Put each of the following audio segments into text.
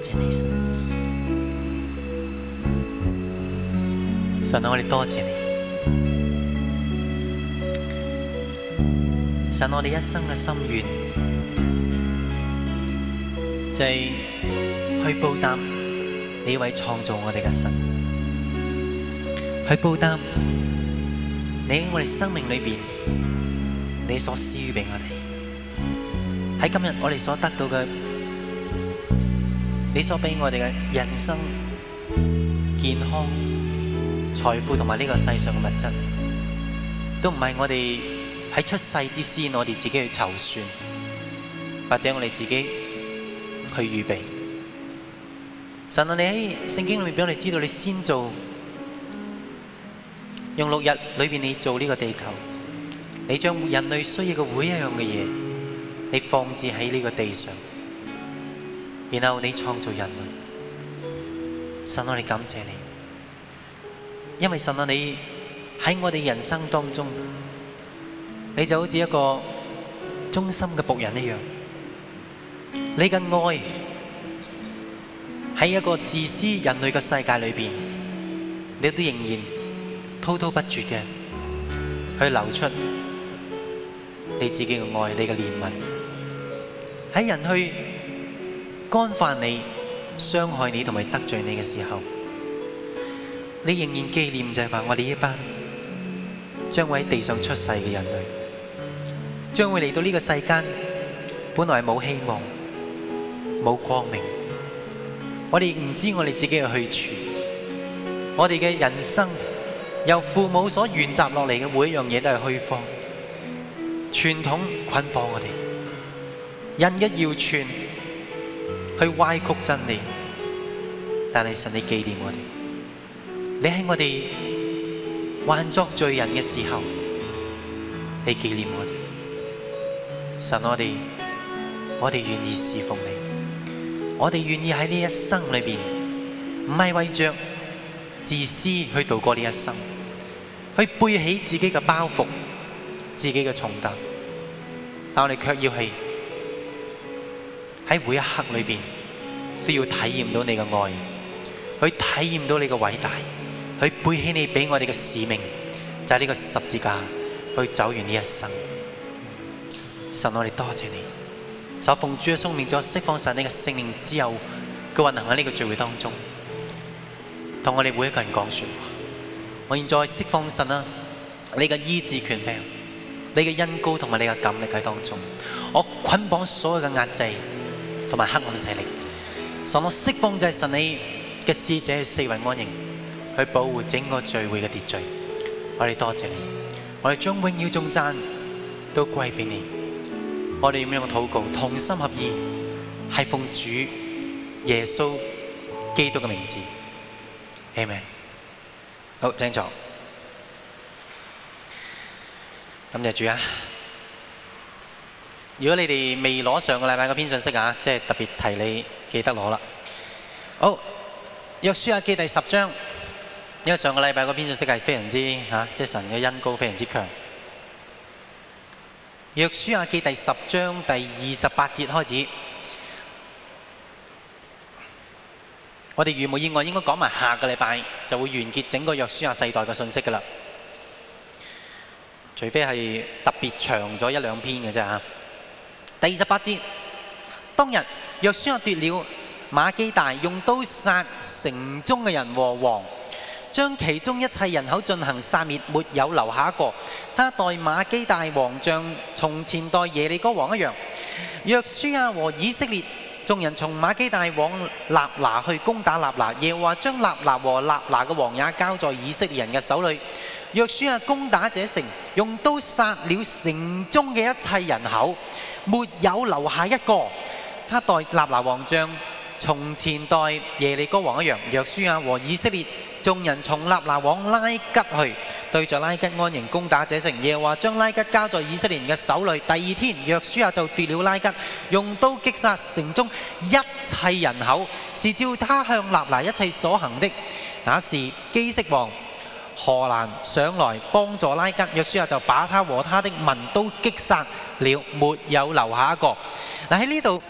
謝你神。神啊，我哋多謝你。神，我哋一生嘅心願就係去報答你呢位創造我哋嘅神，去報答你喺我哋生命裏邊你所施予俾我哋。喺今日我哋所得到嘅，你所俾我哋嘅人生、健康、財富同埋呢個世上嘅物質，都唔係我哋喺出世之先，我哋自己去籌算，或者我哋自己去預備。神啊，你喺聖經裏面俾我哋知道，你先做，用6日裏邊你做呢個地球，你將人類需要嘅每一樣嘅嘢，你放置喺呢個地上，然後你創造人類。神啊，我哋感謝你，因為神啊，你喺我哋人生當中，你就好似一個忠心嘅僕人一樣，你嘅愛喺一個自私人類嘅世界裏邊，你都仍然滔滔不絕嘅去流出你自己嘅愛，你嘅憐憫。喺人去干犯你、傷害你同埋得罪你嘅時候，你仍然紀念就係話我哋呢班將會喺地上出世嘅人類，將會嚟到呢個世間，本來係冇希望、冇光明，我哋唔知我哋自己嘅去處，我哋嘅人生由父母所沿襲落嚟嘅每一樣嘢都係虛謊，傳統捆綁我哋，人嘅謠傳去歪曲真理，但係神你紀念我哋，你喺我哋還作罪人嘅時候，你紀念我哋。神，我哋願意侍奉你，我哋願意喺呢一生裏邊，唔係為着自私去度過呢一生，去背起自己嘅包袱、自己嘅重擔，但我哋卻要係喺每一刻裏邊都要體驗到你嘅愛，去體驗到你嘅偉大，去背起你俾我哋嘅使命，就係呢個十字架，去走完呢一生。神，我哋多謝你，就奉主嘅聖名，就釋放神你嘅聖靈之後嘅運行喺呢個聚會當中，同我哋每一個人講說話。我現在釋放神啊，你嘅醫治權柄，你嘅恩膏同埋你嘅感力喺當中，我捆綁所有嘅壓制同埋黑暗勢力。神，我釋放就係神你嘅使者去四圍安營，去保護整個聚會嘅秩序。我哋多謝你，我哋將榮耀頌讚都歸俾你。我哋咁樣嘅禱告，同心合意，係奉主耶穌基督嘅名字。阿們。好，請坐。感謝主啊！如果你哋未攞上個禮拜嗰篇信息啊，即係特別提你記得攞啦。好，約書亞記第10章，因為上個禮拜嗰篇信息係非常之即係神嘅恩膏非常之強。約書亞記第10章第28節開始，我哋如無意外應該講埋下個禮拜就會完結整個約書亞世代嘅信息㗎啦，除非係特別長咗1、2篇嘅啫嚇。第28節，當日約書亞奪了馬基大，用刀殺城中嘅人和王，將其中一切人口進行殺滅，沒有留下一個。他待馬基大王像從前待耶利哥王一樣。約書亞和以色列眾人從馬基大往納拿去攻打納拿，耶和華將納拿和納拿嘅王也交在以色列人嘅手裏。約書亞攻打這城，用刀殺了城中嘅一切人口，沒有留下一個。他待納拿王像從前待耶利哥王一樣。約書亞和以色列眾人從納拿往拉吉去，對着拉吉安營攻打這城。耶和華將拉吉交在以色列人嘅手裏。第二天，約書亞就奪了拉吉，用刀擊殺城中一切人口，是照他向納拿一切所行的。那時基色王何蘭上來幫助拉吉，約書亞就把他和他的民都擊殺了，沒有留下一個。嗱，喺呢度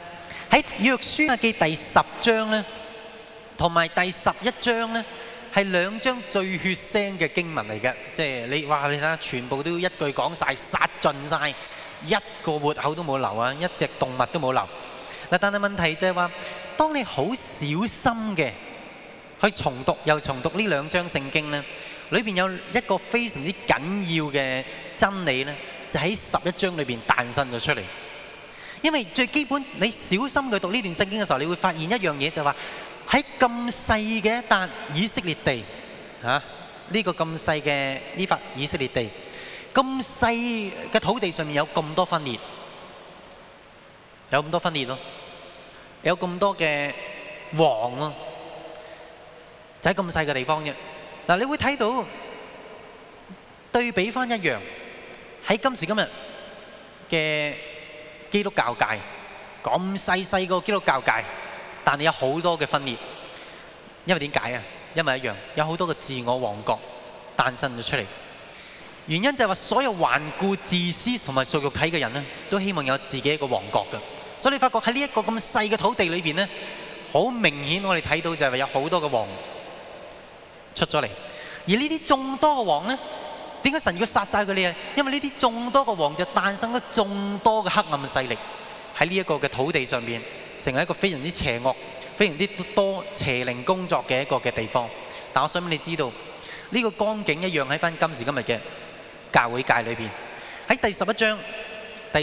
喺約書亞記第10章咧，同埋第11章咧，係兩章最血腥嘅經文嚟嘅。即係你話你睇下，全部都一句講晒，殺盡晒，一個活口都冇留啊，一隻動物都冇留。嗱，但係問題就係話，當你好小心嘅去重讀又重讀呢兩章聖經咧，裏邊有一個非常之緊要嘅真理咧，就喺11章裏邊誕生咗出嚟。因為最基本，你小心去讀呢段聖經嘅時候，你會發現一樣嘢，就係話喺咁細嘅一笪以色列地嚇，呢個咁細嘅呢塊以色列地，咁細嘅土地上面有咁多分裂，有咁多分裂咯，有咁多嘅王咯，就喺咁細嘅地方啫。嗱，你會睇到對比翻一樣喺今時今日嘅基督教界，咁細個基督教界，但係有好多嘅分裂。因為點解啊？因為一樣有好多嘅自我王國誕生咗出嚟。原因就係話，所有頑固自私同埋屬肉體嘅人呢，都希望有自己一個王國嘅。所以你發覺喺呢一個咁細嘅土地裏邊呢，好明顯我哋睇到就係有好多嘅王出咗嚟。而呢啲眾多嘅王呢，點解神要殺晒佢哋啊？因為呢啲眾多嘅王就誕生咗眾多嘅黑暗勢力喺呢一個嘅土地上邊，成為一個非常之邪惡、非常之多邪靈工作嘅一個嘅地方。但我想俾你知道，呢個光景一樣喺翻今時今日嘅教會界裏邊。喺第11章第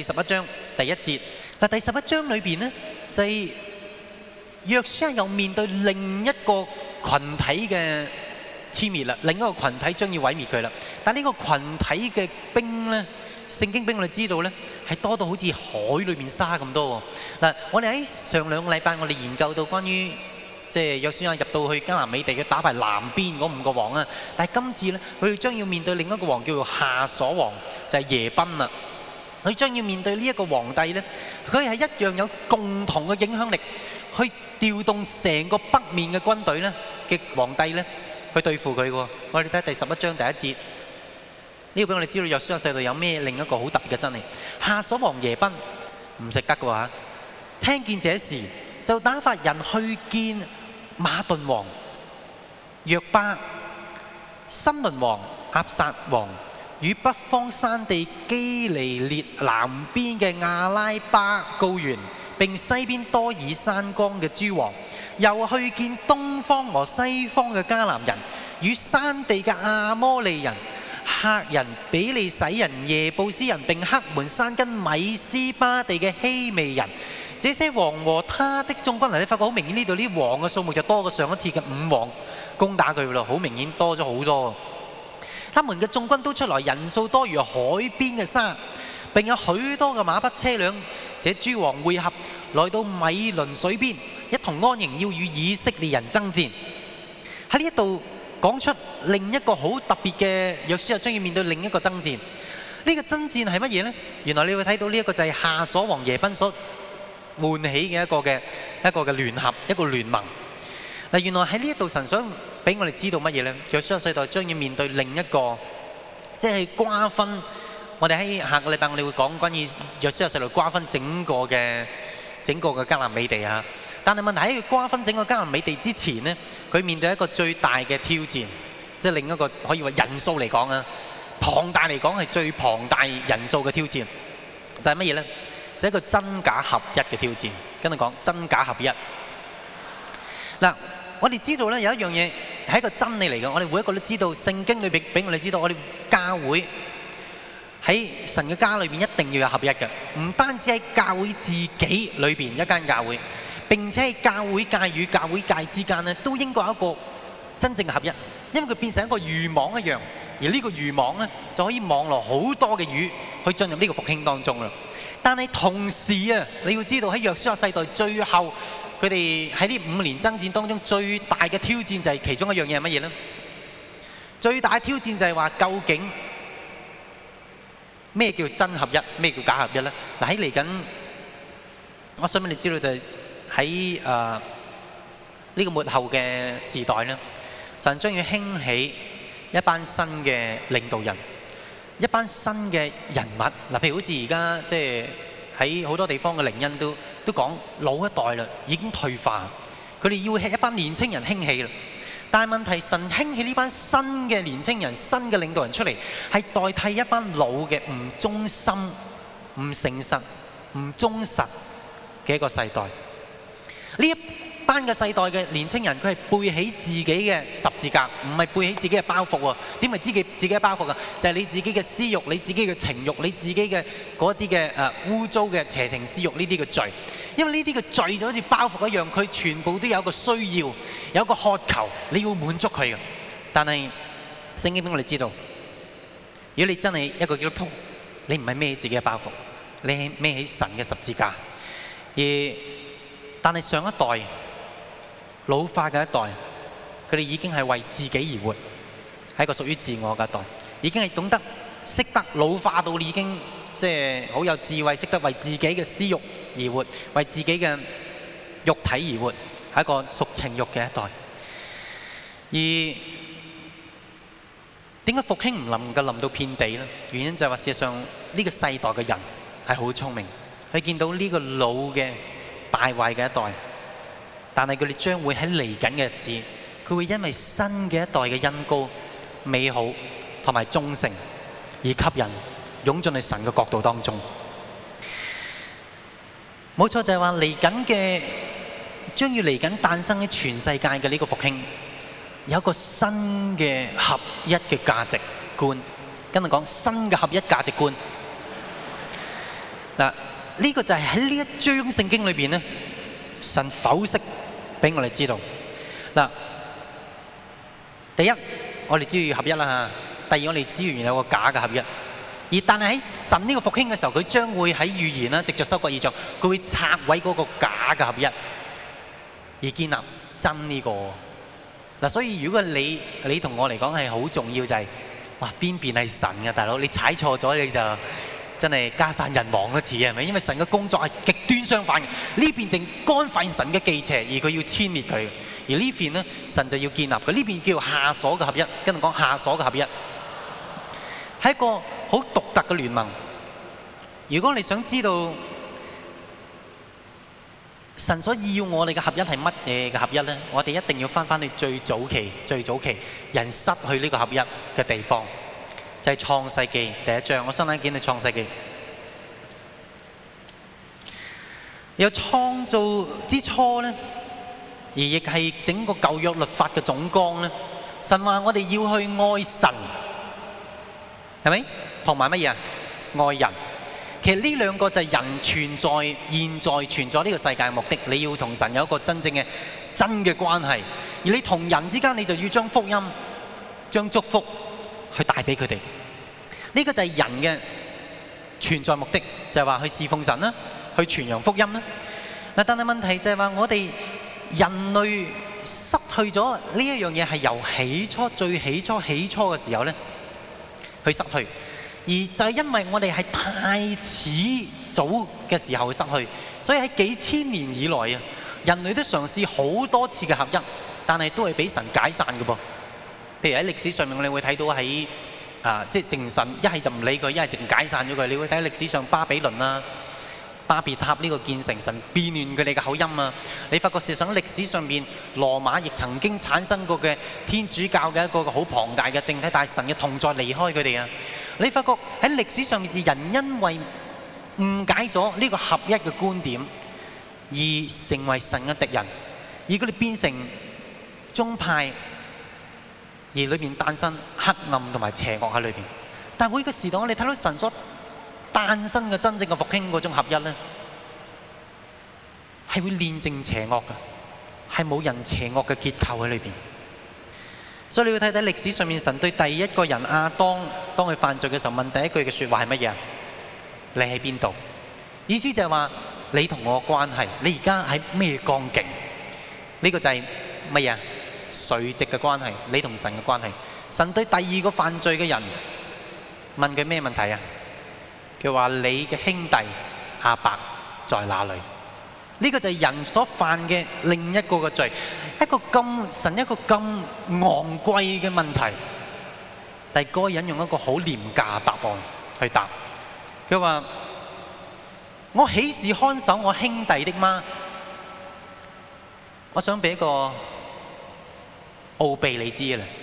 1節，嗱，第11章裏邊呢，就係約書亞又面對另一個群體嘅殲滅啦，另一個群體將要毀滅佢啦。但呢個群體嘅兵呢，聖經俾我哋知道呢，係多到好似海裏面沙咁多喎。嗱，我哋喺上兩個禮拜我哋研究到關於即係約書亞入到去迦南美地嘅打敗南邊嗰5個王啊。但係今次呢，佢哋將要面對另一個王叫做夏瑣王，就係耶賓啦。佢將要面對呢一個皇帝呢，佢係一樣有共同嘅影響力，去調動成個北面嘅軍隊呢嘅皇帝呢，去對付佢喎。我哋睇第11章第1節，呢個俾我哋知道約書亞世代有咩另一個好特別嘅真理。夏瑣王耶賓唔食得嘅話，聽見這事就打發人去見馬頓王約巴、新倫王押撒王與北方山地基尼列南邊嘅亞拉巴高原，並西邊多爾山崗嘅諸王，又去見東方和西方嘅迦南人與山地嘅亞摩利人、赫人、比利洗人、耶布斯人，並黑門山跟米斯巴地嘅希未人。這些王和他的眾軍，嗱，你發覺好明顯呢度啲王嘅數目就多過上一次嘅5王攻打佢咯，好明顯多咗好多。他們嘅眾軍都出來，人數多如海邊嘅沙，並有許多嘅馬匹車輛。這諸王會合來到米倫水邊，一同安營，要與以色列人爭戰。喺呢一度講出另一個好特別嘅約書亞將要面對另一個爭戰。呢個爭戰係乜嘢呢？原來你會睇到呢一個就係夏瑣王耶賓所喚起嘅一個嘅聯合，一個聯盟。嗱，原來喺呢一度神想俾我哋知道乜嘢呢？約書亞世代將要面對另一個，即係瓜分。我哋喺下個禮拜我哋會講關於約書亞世代瓜分整個嘅迦南美地啊。但係問題喺佢瓜分整個迦南美地之前呢，佢面對一個最大嘅挑戰，即係另一個可以話人數嚟講啊，龐大嚟講係最龐大人數嘅挑戰，就係乜嘢呢？就係一個真假合一嘅挑戰。跟住講真假合一。嗱，我哋知道咧有一樣嘢係一個真理嚟嘅，我哋每一個都知道，聖經裏邊俾我哋知道，我哋教會喺神嘅家裏邊一定要有合一嘅，唔單止喺教會自己裏邊一間教會，並且喺教會界與教會界之間咧，都應該有一個真正嘅合一，因為佢變成一個漁網一樣，而呢個漁網咧就可以網羅好多嘅魚去進入呢個復興當中啦。但係同時啊，你要知道喺約書亞世代最後，佢哋喺呢5年爭戰當中最大嘅挑戰就係其中一樣嘢係乜嘢呢？最大嘅挑戰就係話究竟咩叫真合一，咩叫假合一呢？嗱，喺嚟緊，我想俾你知道就係喺呢個末後嘅時代呢，神將要興起一班新嘅領導人。一班新嘅人物，嗱，譬如好似而家即係喺好多地方嘅靈恩都講老一代啦，已經退化，佢哋要一班年青人興起啦。但係問題，神興起呢班新嘅年青人、新嘅領導人出嚟，係代替一班老嘅唔忠心、唔誠實、唔忠實嘅一個世代。呢一班嘅世代嘅年青人，佢係背起自己嘅十字架，唔係背起自己嘅包袱喎。點係自己嘅包袱啊？就係你自己嘅私慾、你自己嘅情慾、你自己嘅嗰啲嘅污糟嘅邪情私慾呢啲嘅罪。因為呢啲嘅罪就好似包袱一樣，佢全部都有一個需要，有一個渴求，你要滿足佢嘅。但係聖經俾我哋知道，如果你真係一個基督徒，你唔係孭自己嘅包袱，你係孭起神嘅十字架。但係上一代老化嘅一代，佢哋已經係為自己而活，係一個屬於自我嘅一代，已經係懂得識得老化到已經即係好有智慧，識得為自己嘅私慾而活，為自己嘅肉體而活，係一個屬情慾嘅一代。而點解復興唔能夠臨到遍地呢？原因就係話，事實上呢個世代嘅人係好聰明，佢見到呢個老嘅敗壞嘅一代。但係佢哋將會喺嚟緊嘅日子，佢會因為新嘅一代嘅恩膏、美好同埋忠誠而吸引，湧進去神嘅國度當中。冇錯，就係話嚟緊嘅，將要嚟緊誕生喺全世界嘅呢個復興，有一個新嘅合一嘅價值觀。跟住講新嘅合一價值觀。嗱，呢個就係喺呢一章聖經裏邊咧，神剖析俾我哋知道。嗱，第一，我哋知道要合一啦嚇。第二，我哋知道原來有個假嘅合一。而但係喺神呢個復興嘅時候，佢將會喺預言啦，藉著收割異象，佢會拆毀嗰個假嘅合一，而建立真呢個。嗱，所以如果你同我嚟講係好重要，就係哇邊邊係神嘅大佬，你踩錯咗你就真係家散人亡一次，係咪？因為神嘅工作係極端相反嘅，呢邊正干犯神嘅忌邪，而佢要殲滅佢；而呢邊呢，神就要建立佢。呢邊叫下所嘅合一，跟住講下所嘅合一，係一個好獨特嘅聯盟。如果你想知道神所要我哋嘅合一係乜嘢嘅合一呢？我哋一定要翻去最早期人失去呢個合一嘅地方。就係創世記第一章，我新眼見到創世記有創造之初呢，而亦係整個舊約律法嘅總綱呢。神話我哋要去愛神，係咪？同埋乜嘢啊？愛人。其實呢兩個就係人存在、現在存在呢個世界嘅目的。你要同神有一個真正嘅真嘅關係，而你同人之間，你就要將福音、將祝福去帶俾佢哋。呢個就係人嘅存在目的，就係話去侍奉神啦，去傳揚福音啦。嗱，但係問題就係話我哋人類失去咗呢一樣嘢，係由最起初嘅時候咧去失去，而就係因為我哋係太遲早嘅時候去失去，所以喺幾千年以來啊，人類都嘗試好多次嘅合一，但係都係俾神解散嘅噃。譬如喺歷史上面，我哋會睇到喺即係淨神一係就唔理佢，一係淨解散咗佢。你會睇歷史上巴比倫啊、巴別塔呢個建成，神變亂佢哋嘅口音啊。你發覺事實上歷史上邊羅馬亦曾經產生過嘅天主教嘅一個好龐大嘅政體，但係神嘅同在離開佢哋啊。你發覺喺歷史上面是人因為誤解咗呢個合一嘅觀點，而成為神嘅敵人，而佢哋變成宗派。而裏面誕生黑暗同埋邪惡喺裏邊，但係每個時代我哋睇到神所誕生嘅真正嘅復興嗰種合一咧，係會煉淨邪惡嘅，係冇人邪惡嘅結構喺裏邊。所以你要睇睇歷史上面神對第一個人亞當，當佢犯罪嘅時候問第一句嘅説話係乜嘢？你喺邊度？意思就係話你同我嘅關係，你而家喺咩光景？呢個就係乜嘢？垂直嘅關係，你同神嘅關係。神對第二個犯罪嘅人問佢咩問題啊？佢話你嘅兄弟亞伯在哪裏？呢個就係人所犯嘅另一個嘅罪，神一個咁昂貴嘅問題，但係嗰個人用一個好廉價嘅答案去答。佢話我豈是看守我兄弟的嗎？我想俾一個奧秘你知啦，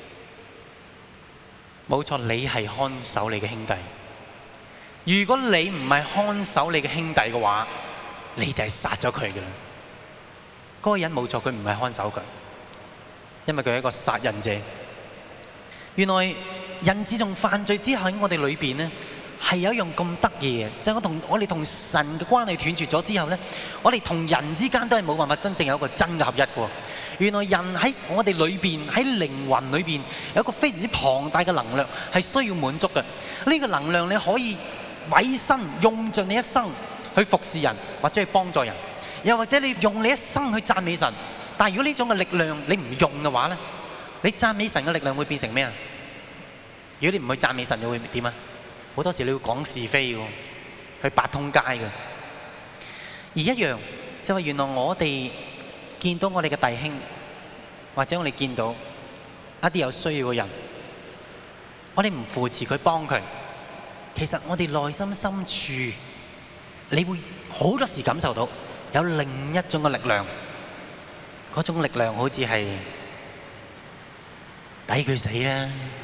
冇錯，你係看守你嘅兄弟。如果你唔係看守你嘅兄弟嘅話，你就係殺咗佢嘅啦。嗰個人冇錯，佢唔係看守佢，因為佢係一個殺人者。原來人自從犯罪之後喺我哋裏邊呢，係有一樣咁得意嘅，就係我哋同神嘅關係斷絕咗之後呢，我哋同人之間都係冇辦法真正有一個真嘅合一嘅。原來人喺我哋裏邊，喺靈魂裏邊有一個非常之龐大嘅能量係需要滿足嘅。呢個能量你可以委身用盡你一生去服侍人或者去幫助人，又或者你用你一生去讚美神。但係如果呢種嘅力量你唔用嘅話呢，你讚美神嘅力量會變成咩啊？如果你唔去讚美神，你會點啊？好多時你會講是非嘅，去八通街嘅。而一樣就係原來我哋見到我哋嘅弟兄，或者我哋見到一啲有需要嘅人，我哋唔扶持佢幫佢，其實我哋內心深處，你會好多時感受到有另一種嘅力量，嗰種力量好似係抵佢死啦。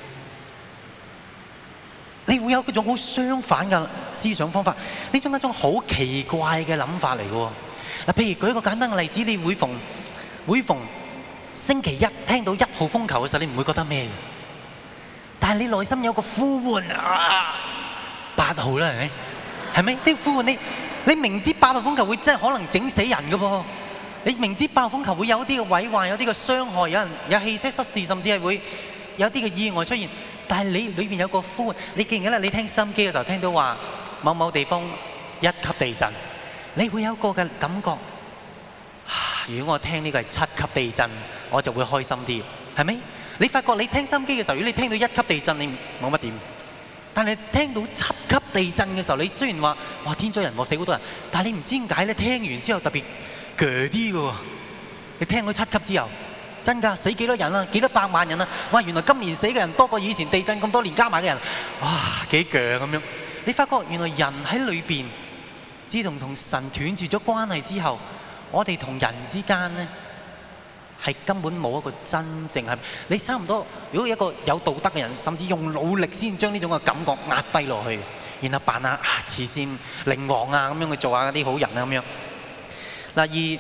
你會有嗰種好相反嘅思想方法，呢種一種好奇怪嘅諗法嚟嘅喎。嗱，譬如舉一個簡單嘅例子，你每逢星期一聽到1號風球嘅時候，你唔會覺得咩嘅，但係你內心有個呼喚啊，8號啦，係咪？呢個呼喚你明知8號風球會真係可能整死人嘅噃，你明知8號風球會有啲嘅毀壞，有啲嘅傷害，有汽車失事，甚至係會有啲嘅意外出現。但係你裏邊有個呼喚，你記唔記得你聽收音機嘅時候聽到話某某地方1級地震，你會有一個嘅感覺。如果我聽呢個係7級地震，我就會開心啲，係咪？你發覺你聽收音機嘅時候，如果你聽到1級地震，你冇乜點。但係聽到7級地震嘅時候，你雖然話哇天災人禍死好多人，但係你唔知點解咧？聽完之後特別鋸啲嘅喎。你聽到7級之後。真㗎，死幾多人啊？幾多百萬人啊？哇！原來今年死嘅人多過以前地震咁多年加埋嘅人，哇！幾鋸咁樣。你發覺原來人喺裏邊，自從同神斷絕咗關係之後，我哋同人之間呢係根本冇一個真正係。你差唔多，如果一個有道德嘅人，甚至用努力先將呢種嘅感覺壓低落去，然後扮下慈善靈王啊咁樣去做下啲好人啊咁樣。嗱，而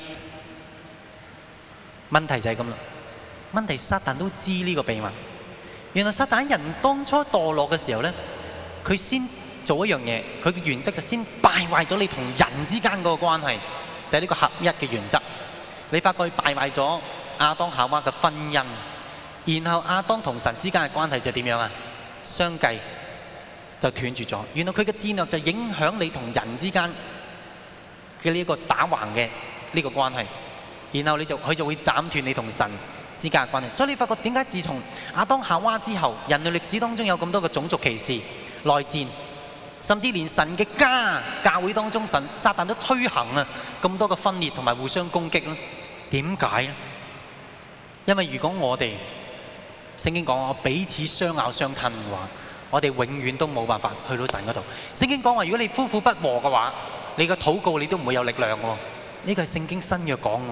問題就係咁啦。問題撒旦都知呢個秘密。原來撒旦人當初墮落嘅時候呢，佢先做一樣嘢，佢嘅原則就先敗壞咗你同人之間嗰個關係，就係呢個合一嘅原則。你發覺佢敗壞咗亞當夏娃嘅婚姻，然後亞當同神之間嘅關係就點樣啊？相繼就斷絕咗。原來佢嘅戰略就影響你同人之間嘅呢個打橫嘅呢個關係，然後佢就會斬斷你同神之間嘅關係。所以你發覺點解自從亞當夏娃之後，人類歷史當中有咁多嘅種族歧視、內戰，甚至連神嘅教會當中，撒旦都推行啊咁多嘅分裂同埋互相攻擊咧？點解咧？因為如果我哋聖經講我彼此相咬相吞嘅話，我哋永遠都冇辦法去到神嗰度。聖經講話如果你夫婦不和嘅話，你嘅禱告你都唔會有力量喎。呢個係聖經新約講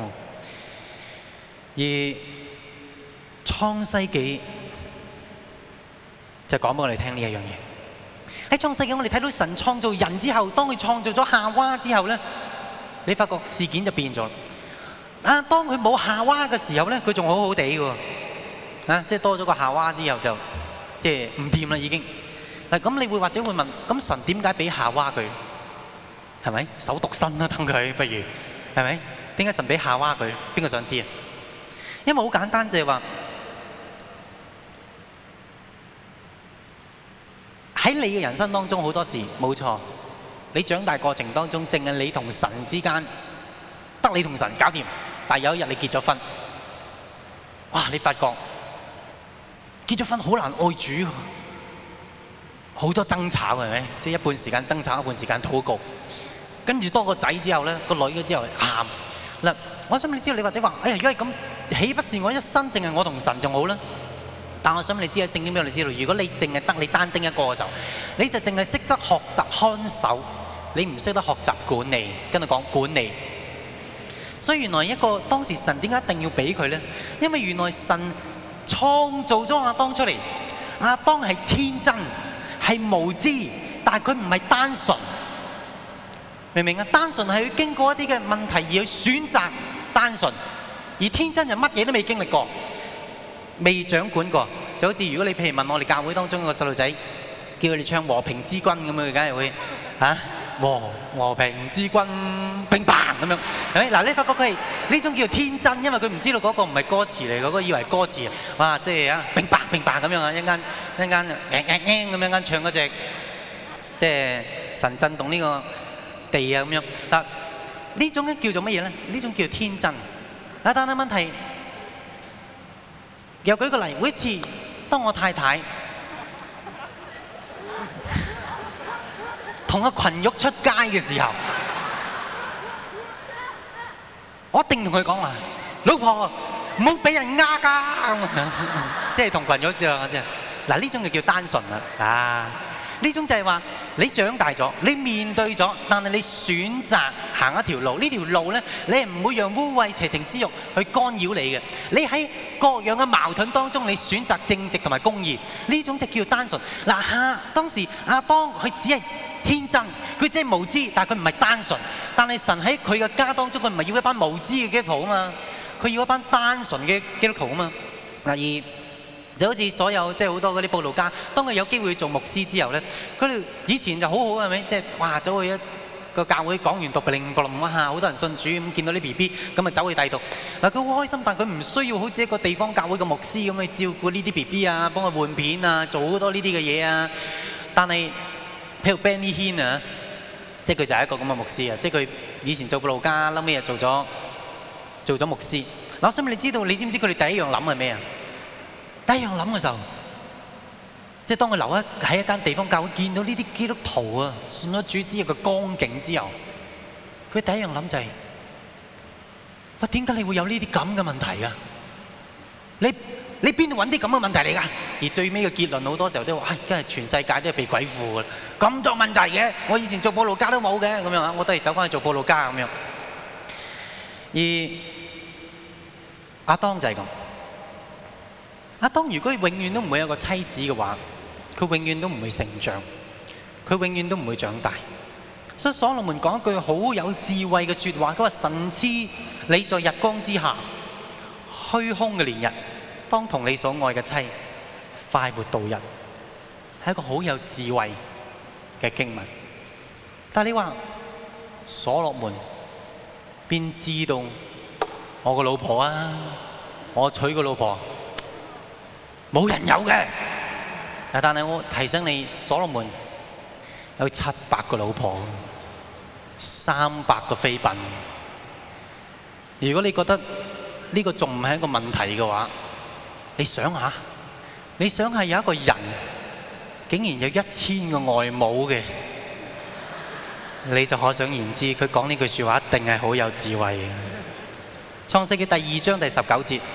嘅。而創世紀就講俾我哋聽呢一樣嘢。喺創世紀我哋睇到神創造人之後，當佢創造咗夏娃之後呢，你發覺事件就變咗。當佢冇夏娃嘅時候呢，佢仲好好地嘅喎。即係多咗個夏娃之後就即係唔掂啦已經。咁你會或者會問，咁神點解俾夏娃佢？係咪手獨身啦？等佢不如係咪？點解神俾夏娃佢？邊個想知啊？因為好簡單，就係話喺你嘅人生當中，好多時冇錯，你長大過程當中，淨係你同神之間得你同神搞掂。但係有一日你結咗婚，哇！你發覺結咗婚好難愛主，好多爭吵係咪？即係一半時間爭吵，一半時間禱告，跟住多個仔之後咧，個女嘅之後喊嗱。我想你知道，你或者話：哎呀，如果係咁，豈不是我一生淨係我同神仲好咧？但我想你知喺聖經俾我哋知道，如果你淨係得你單丁一個嘅時候，你就淨係識得學習看守你唔識得學習管理，跟住講管理。所以原來一個當時神點解一定要俾佢呢？因為原來神創造咗亞當出嚟，亞當係天真，係無知，但係佢唔係單純，明唔明啊？單純係要經過一啲嘅問題而去選擇單純，而天真就乜嘢都未經歷過，未掌管過。就好似如果你譬如問我哋教會當中個細路仔，叫佢哋唱和平之君咁樣，佢梗係會嚇。和平之君，乒乓咁樣，係咪？嗱，你發覺佢係呢種叫做天真，因為佢唔知道嗰個唔係歌詞嚟，嗰個以為係歌詞，哇！即係啊，乒乓乒乓咁樣啊，一間咁樣唱嗰隻，即係神震動呢個地啊咁樣。嗱，呢種叫做乜嘢咧？呢種叫做天真。但係問題，又舉個例，每一次當我太太同個群玉出街嘅時候，我一定同佢講話：老婆唔好俾人呃㗎，即係同群玉啫嘛，即係嗱呢種就叫單純啦。啊，呢種就係話你長大咗，你面對咗，但係你選擇行一條路，呢條路咧，你係唔會讓污穢邪情私慾去干擾你嘅。你喺各樣嘅矛盾當中，你選擇正直同埋公義，呢種就叫單純。嗱，當時亞當佢只係天真，佢只係無知，但係佢唔係單純。但係神喺佢嘅家當中，佢唔係要一班無知嘅基督徒啊嘛，佢要一班單純嘅基督徒啊嘛。嗱，而就好似所有即係好多嗰啲佈道家，當佢有機會去做牧師之後咧，佢哋以前就好好係咪？即係哇，走去一個教會講完讀令布林啊，好多人信主咁，見到啲 BB 咁啊走去第度。嗱，佢好開心，但係佢唔需要好似一個地方教會嘅牧師咁去照顧呢啲 BB 啊，幫佢換片啊，做好多呢啲嘅嘢啊。但係譬如 Benny Hinn 啊，即係佢就係一個咁嘅牧師啊，即係佢以前做佈道家，後尾又做咗牧師。嗱，我想問你知道，你知唔知佢哋第一樣諗係咩啊？第一樣諗嘅時候，即係當佢留喺一間地方教會，見到呢啲基督徒啊，信咗主之後嘅光景之後，佢第一樣諗就係：喂，點解你會有呢啲咁嘅問題啊？你邊度揾啲咁嘅問題嚟㗎？而最尾嘅結論好多時候都話：唉，真係全世界都係被鬼附㗎，咁多問題嘅。我以前做佈道家都冇嘅，咁樣啊，我都係走翻去做佈道家咁樣。而亞當就係咁。亞當如果永遠都唔會有個妻子嘅話，佢永遠都唔會成長，佢永遠都唔會長大。所以所羅門講一句好有智慧嘅説話，佢話：神賜你在日光之下虛空嘅年日，當同你所愛嘅妻快活度日，係一個好有智慧嘅經文。但係你話所羅門邊知道我個老婆啊？我娶個老婆冇人有嘅。但係我提醒你，所羅門有700個老婆，300個妃嬪。如果你覺得呢個仲唔係一個問題嘅話，你想下有一個人竟然有1000個外母嘅，你就可想而知，佢講呢句説話一定係好有智慧嘅。創世記第2章第19節。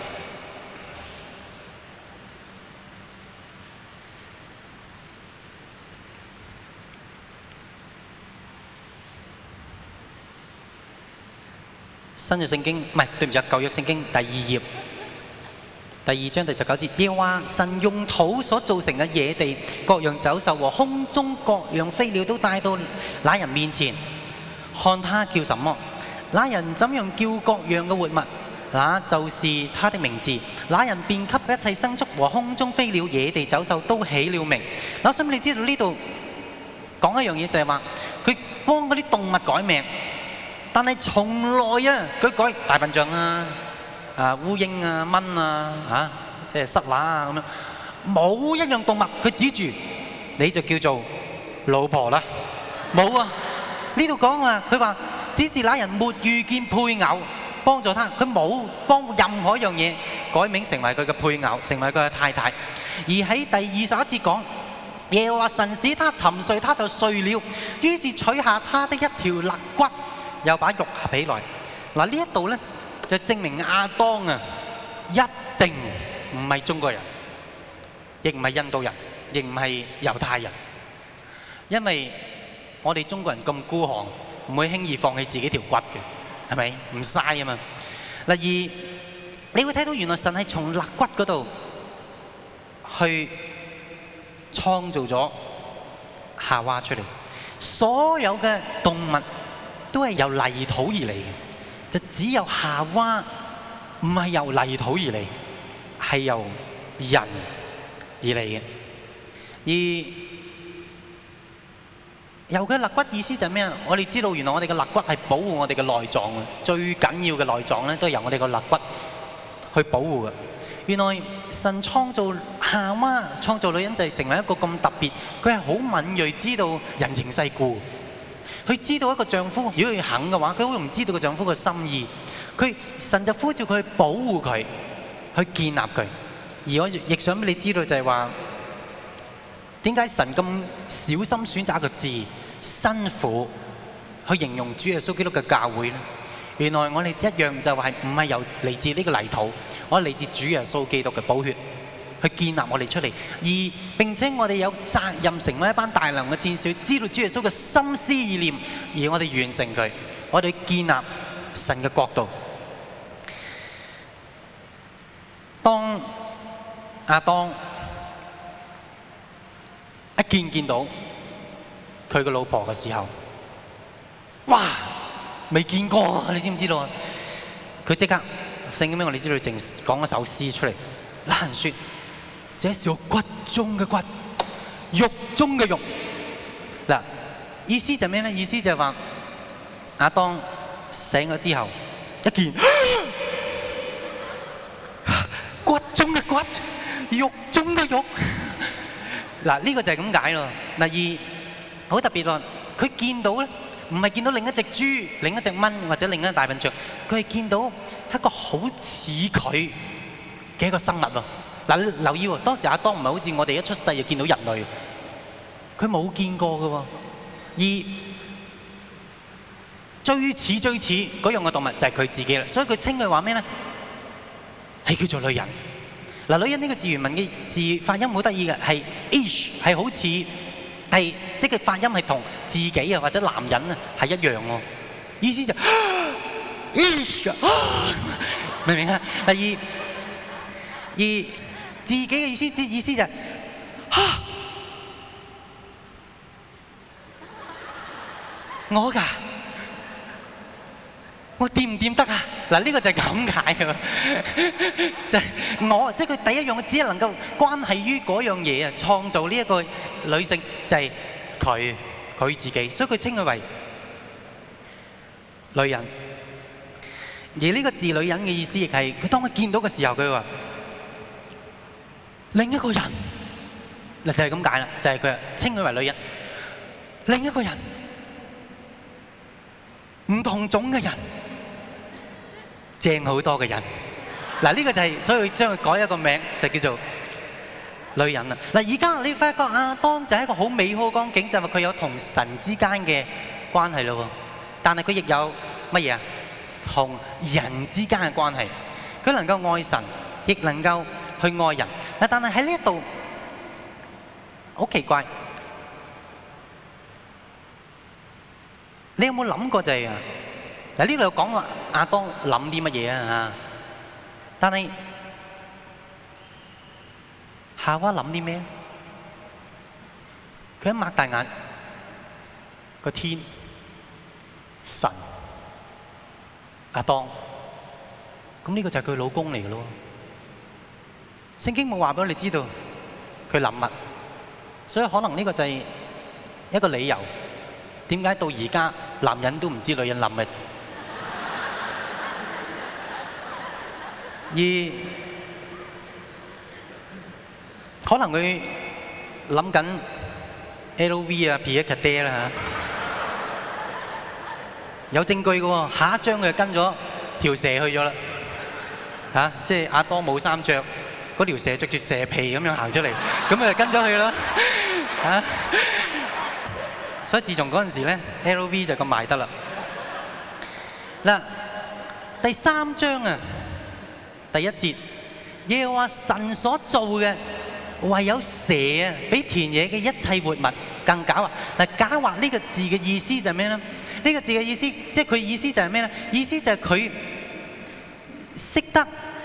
新約聖經唔係，對唔住，舊約聖經第2頁第2章第19節，耶和華神用土所造成嘅野地各樣走獸和空中各樣飛鳥都帶到那人面前，看他叫什麼，那人怎樣叫各樣嘅活物，那就是他的名字。那人便給一切牲畜和空中飛鳥、野地走獸都起了名。我想你知道呢度講一樣嘢，就係話佢幫嗰啲動物改名。但係從來啊，佢改大笨象啊、烏蠅啊、蚊啊、即係虱乸啊咁樣，冇一樣動物佢指住你就叫做老婆啦，冇啊！呢度講啊，佢話只是那人沒遇見配偶幫助他，佢冇幫任何一樣嘢改名成為佢嘅配偶，成為佢嘅太太。而喺第21節講，耶和華神使他沉睡，他就睡了，於是取下他的一條肋骨，又把肉合起來。嗱，呢一度咧就證明亞當啊一定唔係中國人，亦唔係印度人，亦唔係猶太人，因為我哋中國人咁孤寒，唔會輕易放棄自己條骨嘅，係咪？唔嘥啊嘛。嗱，而你會睇到原來神係從肋骨嗰度去創造咗夏娃出嚟。所有嘅動物都係由泥土而嚟嘅，就只有夏娃唔係由泥土而嚟，係由人而嚟嘅。而由佢肋骨意思就係咩啊？我哋知道原來我哋嘅肋骨係保護我哋嘅內臟嘅，最緊要嘅內臟咧都係由我哋個肋骨去保護嘅。原來神創造夏娃、創造女人就係成為一個咁特別，佢係好敏鋭，知道人情世故。佢知道一個丈夫如果佢肯嘅話，佢好容易知道個丈夫嘅心意。神就呼召佢去保護佢，去建立佢。而我亦想俾你知道就係話，點解神咁小心選擇一個字辛苦去形容主耶穌基督嘅教會呢？原來我哋一樣就係唔係由嚟自呢個泥土，我係嚟自主耶穌基督嘅寶血去建立我哋出嚟，而並且我哋有責任成為一班大能嘅戰士，知道主耶穌嘅心思意念，而我哋完成佢，我哋建立神嘅國度。當亞當一見到佢個老婆嘅時候，哇！未見過啊！你知唔知道啊？佢即刻聖經俾我哋知道，淨講一首詩出嚟。那人說：這是我骨中嘅骨，肉中嘅肉。嗱，意思就咩咧？意思就係話亞當醒咗之後，一見骨中嘅骨，肉中嘅肉。嗱，呢個就係咁解咯。嗱，而好特別喎，佢見到咧。唔係見到另一隻豬、另一隻蚊或者另一隻大笨象，佢係見到一個好似佢嘅一個生物喎。嗱，你留意喎，當時亞當唔係好似我哋一出世就見到人類，佢冇見過嘅喎。而最似嗰樣嘅動物就係佢自己啦，所以佢稱佢話咩咧？係叫做女人。嗱，女人呢個字原文嘅字發音好得意嘅，係 ish， 係好似係即係發音係同自己啊或者男人啊係一樣喎。意思就 ish， 明唔明啊？第二自己嘅意思就係我㗎。我掂唔掂得啊？嗱，呢個就係咁解喎，就係我，即係佢第一樣，只係能夠關係於嗰樣嘢啊，創造呢一個女性就係佢自己，所以佢稱佢為女人。而呢個字女人嘅意思亦係佢當佢見到嘅時候，佢話另一個人，嗱就係咁解啦，就係佢稱佢為女人，另一個人，唔同種嘅人。正好多嘅人，嗱呢個就係，所以佢將佢改一個名，就叫做女人啦。嗱，而家你發覺亞當就係一個好美好嘅光景，就係佢有同神之間嘅關係咯。但係佢亦有乜嘢啊？同人之間嘅關係，佢能夠愛神，亦能夠去愛人。嗱，但係喺呢一度好奇怪，你有冇諗過就係啊？嗱，呢度有講話亞當諗啲乜嘢啊嚇？但係夏娃諗啲咩？佢一擘大眼，個天、神、亞當，咁呢個就係佢老公嚟嘅咯。聖經冇話俾我哋知道佢諗乜，所以可能呢個就係一個理由，點解到而家男人都唔知女人諗乜？而可能佢諗緊 LV 啊、Pierre Cardin 啦嚇，有證據嘅喎。下一章佢就跟咗條蛇去咗啦嚇，即係亞當冇衫著，嗰條蛇著住蛇皮咁樣行出嚟，咁佢就跟咗去啦嚇。所以自從嗰陣時咧 ，LV 就咁賣得啦。嗱，第3章啊。第1節，耶和華神所做嘅，唯有蛇啊，比田野嘅一切活物更狡猾。嗱，狡猾呢個字嘅意思就係咩呢？呢個字嘅意思，即係佢意思就係咩呢？意思就係佢識得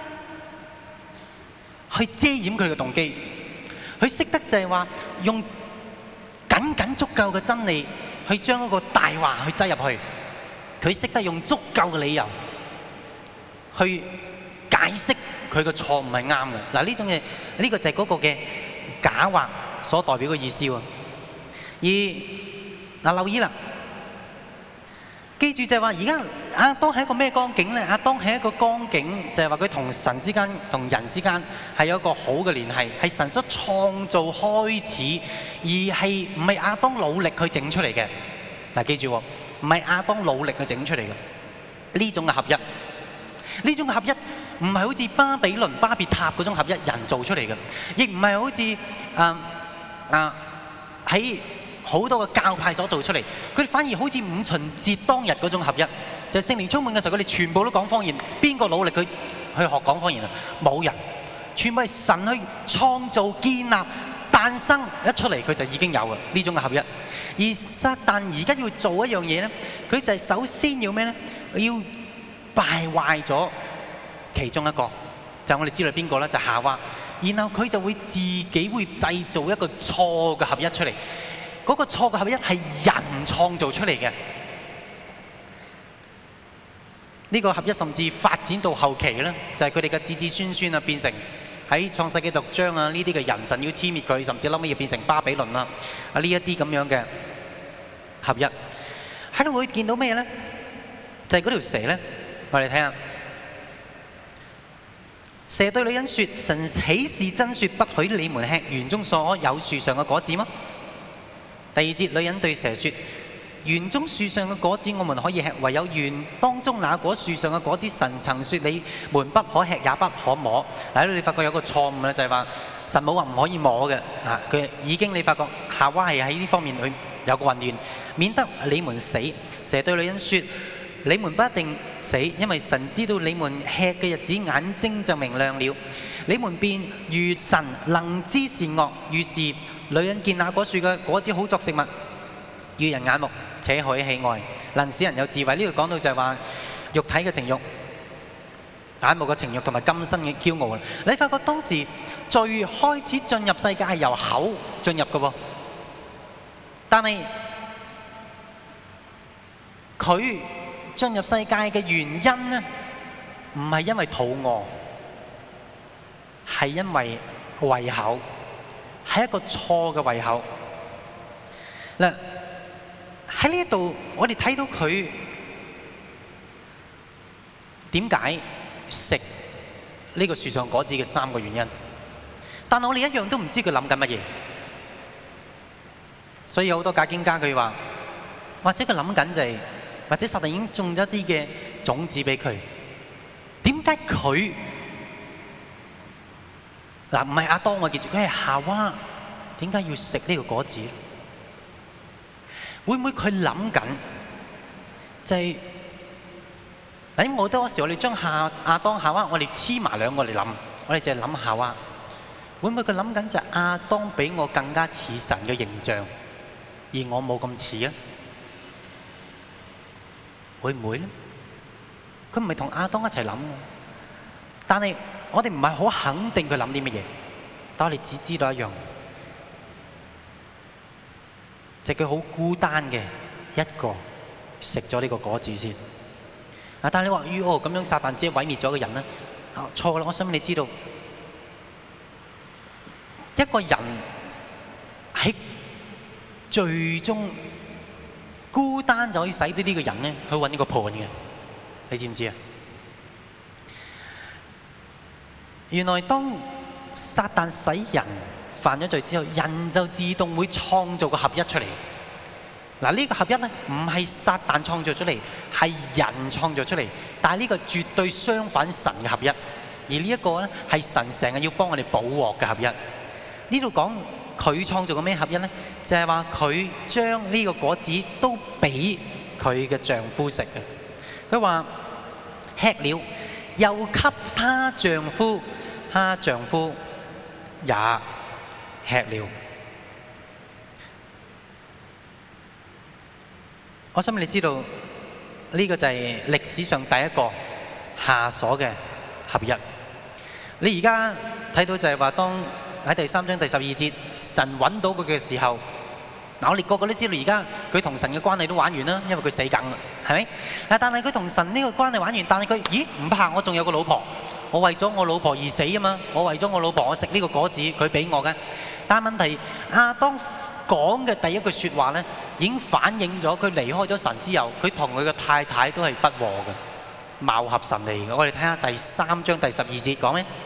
去遮掩佢嘅動機，佢識得就係話用僅足夠嘅真理去將一個大話去擠入去，佢識得用足夠嘅理由去解釋佢嘅錯誤係啱嘅。嗱，呢種嘢，呢個就係嗰個嘅狡猾所代表嘅意思喎。而嗱，留意啦，記住就係話，而家亞當係一個咩光景咧？亞當係一個光景，就係話佢同神之間、同人之間係有一個好嘅聯繫，係神所創造開始，而係唔係亞當努力去整出嚟嘅。嗱，記住喎，唔係亞當努力去整出嚟嘅呢種嘅合一。呢種合一唔係好似巴比倫、巴別塔嗰種合一人做出嚟嘅，亦唔係好似喺好多個教派所做出嚟。佢哋反而好似五旬節當日嗰種合一，就係聖靈充滿嘅時候，佢哋全部都講方言。邊個努力去學講方言啊？冇人，全部係神去創造、建立、誕生，一出嚟佢就已經有嘅呢種嘅合一。而撒旦而家要做一樣嘢咧，佢就係首先要咩咧？要敗壞咗其中一個，就係我哋知道邊個咧？就係夏娃。然後佢就會自己會製造一個錯嘅合一出嚟。嗰個錯嘅合一係人創造出嚟嘅。呢個合一甚至發展到後期咧，就係佢哋嘅子子孫孫啊，變成喺創世記6章啊，呢啲嘅人神要殲滅佢，甚至後尾要變成巴比倫啦啊，呢一啲咁樣嘅合一。喺度會見到咩咧？就係嗰條蛇咧。我哋睇下，蛇對女人說：神豈是真說不許你們吃園中所有樹上嘅果子嗎？第二節，女人對蛇說：園中樹上嘅果子我們可以吃，唯有園當中那果樹上嘅果子，神曾說你們不可吃，也不可摸。嗱，你發覺有個錯誤咧，就係話神冇話唔可以摸嘅啊！佢已經你發覺夏娃係喺呢方面佢有個混亂，免得你們死。蛇對女人說：你們不一定死，因為神知道你們吃嘅日子，眼睛就明亮了，你們便如神能知善惡。於是女人見那果樹嘅果子好作食物，悅人眼目，且可喜愛，能使人有智慧。呢度講到就係話肉體嘅情慾、眼目嘅情慾同埋今生嘅驕傲。你發覺當時最開始進入世界係由口進入嘅喎，但係佢進入世界嘅原因呢，唔係因為肚餓，係因為胃口，係一個錯嘅胃口。嗱，喺呢度我哋睇到佢點解食呢個樹上果子嘅3個原因，但係我哋一樣都唔知佢諗緊乜嘢。所以有好多解經家佢話，或者佢諗緊就係，或者撒旦已經種咗一啲嘅種子俾佢。點解佢嗱唔係亞當，我記住佢係夏娃，點解要食呢個果子？會唔會佢諗緊就係嗱？因為好多時我哋將亞當夏娃我哋黐埋兩個嚟諗，我哋淨係諗夏娃。會唔會佢諗緊就係亞當比我更加似神嘅形象，而我冇咁似咧？會唔會咧？佢唔係同亞當一齊諗嘅，但係我哋唔係好肯定佢諗啲乜嘢，但我哋只知道一樣，就係佢好孤單嘅一個食咗呢個果子先。但係你話咁樣撒旦只係毀滅咗個人咧？錯啦！我想你知道，一個人喺最終孤單就可以使到呢個人咧去揾一個伴嘅，你知唔知啊？原來當撒旦使人犯咗罪之後，人就自動會創造個合一出嚟。嗱，呢個合一咧唔係撒旦創造出嚟，係人創造出嚟。但係呢個絕對相反神嘅合一，而呢一個咧係神成日要幫我哋補鑊嘅合一。呢度講佢創造嘅咩合一咧？就係話佢將呢個果子都俾佢嘅丈夫食嘅。佢話吃了，又給她丈夫，她丈夫也吃了。 我想你知道呢個就係歷史上第一個下鎖嘅合一。你而家睇到就係話，當喺第3章第12節，神揾到佢嘅時候，嗱，我哋個個都知道而家佢同神嘅關係都玩完啦，因為佢死梗啦，係咪？但係佢同神呢個關係玩完，但係佢咦唔怕，我仲有個老婆，我為咗我老婆而死啊嘛，我為咗我老婆我食呢個果子，佢俾我嘅。但係問題亞當講嘅第一句説話咧，已經反映咗佢離開咗神之後，佢同佢嘅太太都係不和嘅，貌合神離嘅。我哋睇下第3章第12節講咩？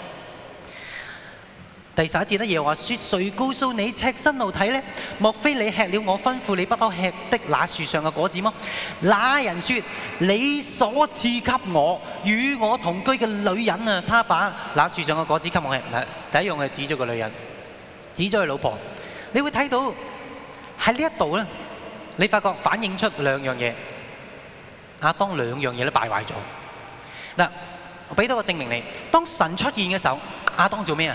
第11節咧，耶和華說：誰告訴你赤身露體呢？莫非你吃了我吩咐你不可吃的那樹上嘅果子麼？那人說：你所賜給我與我同居嘅女人啊，他把那樹上嘅果子給我吃。嗱，第一樣係指咗個女人，指咗佢老婆。你會睇到喺呢一度咧，你發覺反映出兩樣嘢。亞當兩樣嘢都敗壞咗。嗱，我俾多個證明你。當神出現嘅時候，亞當做咩啊？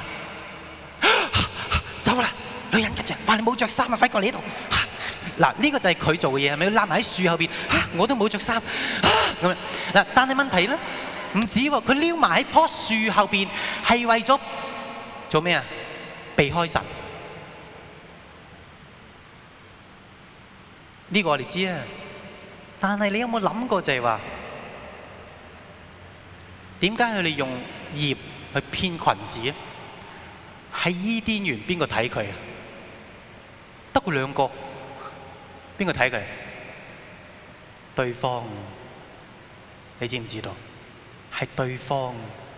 走啦，女人跟住話你冇着衫啊，快過嚟呢度。嗱，呢個就係佢做嘅嘢，係咪？佢攬埋喺樹後邊，我都冇着衫。咁樣嗱，但係問題咧，唔止喎，佢撩埋喺棵樹後邊，係為咗做咩啊？避開神。呢個我哋知啊，但係你有冇諗過就係話，點解佢哋用葉去編裙子啊？喺伊甸園邊個睇佢啊？得佢兩個，邊個睇佢？對方，你知唔知道？係對方。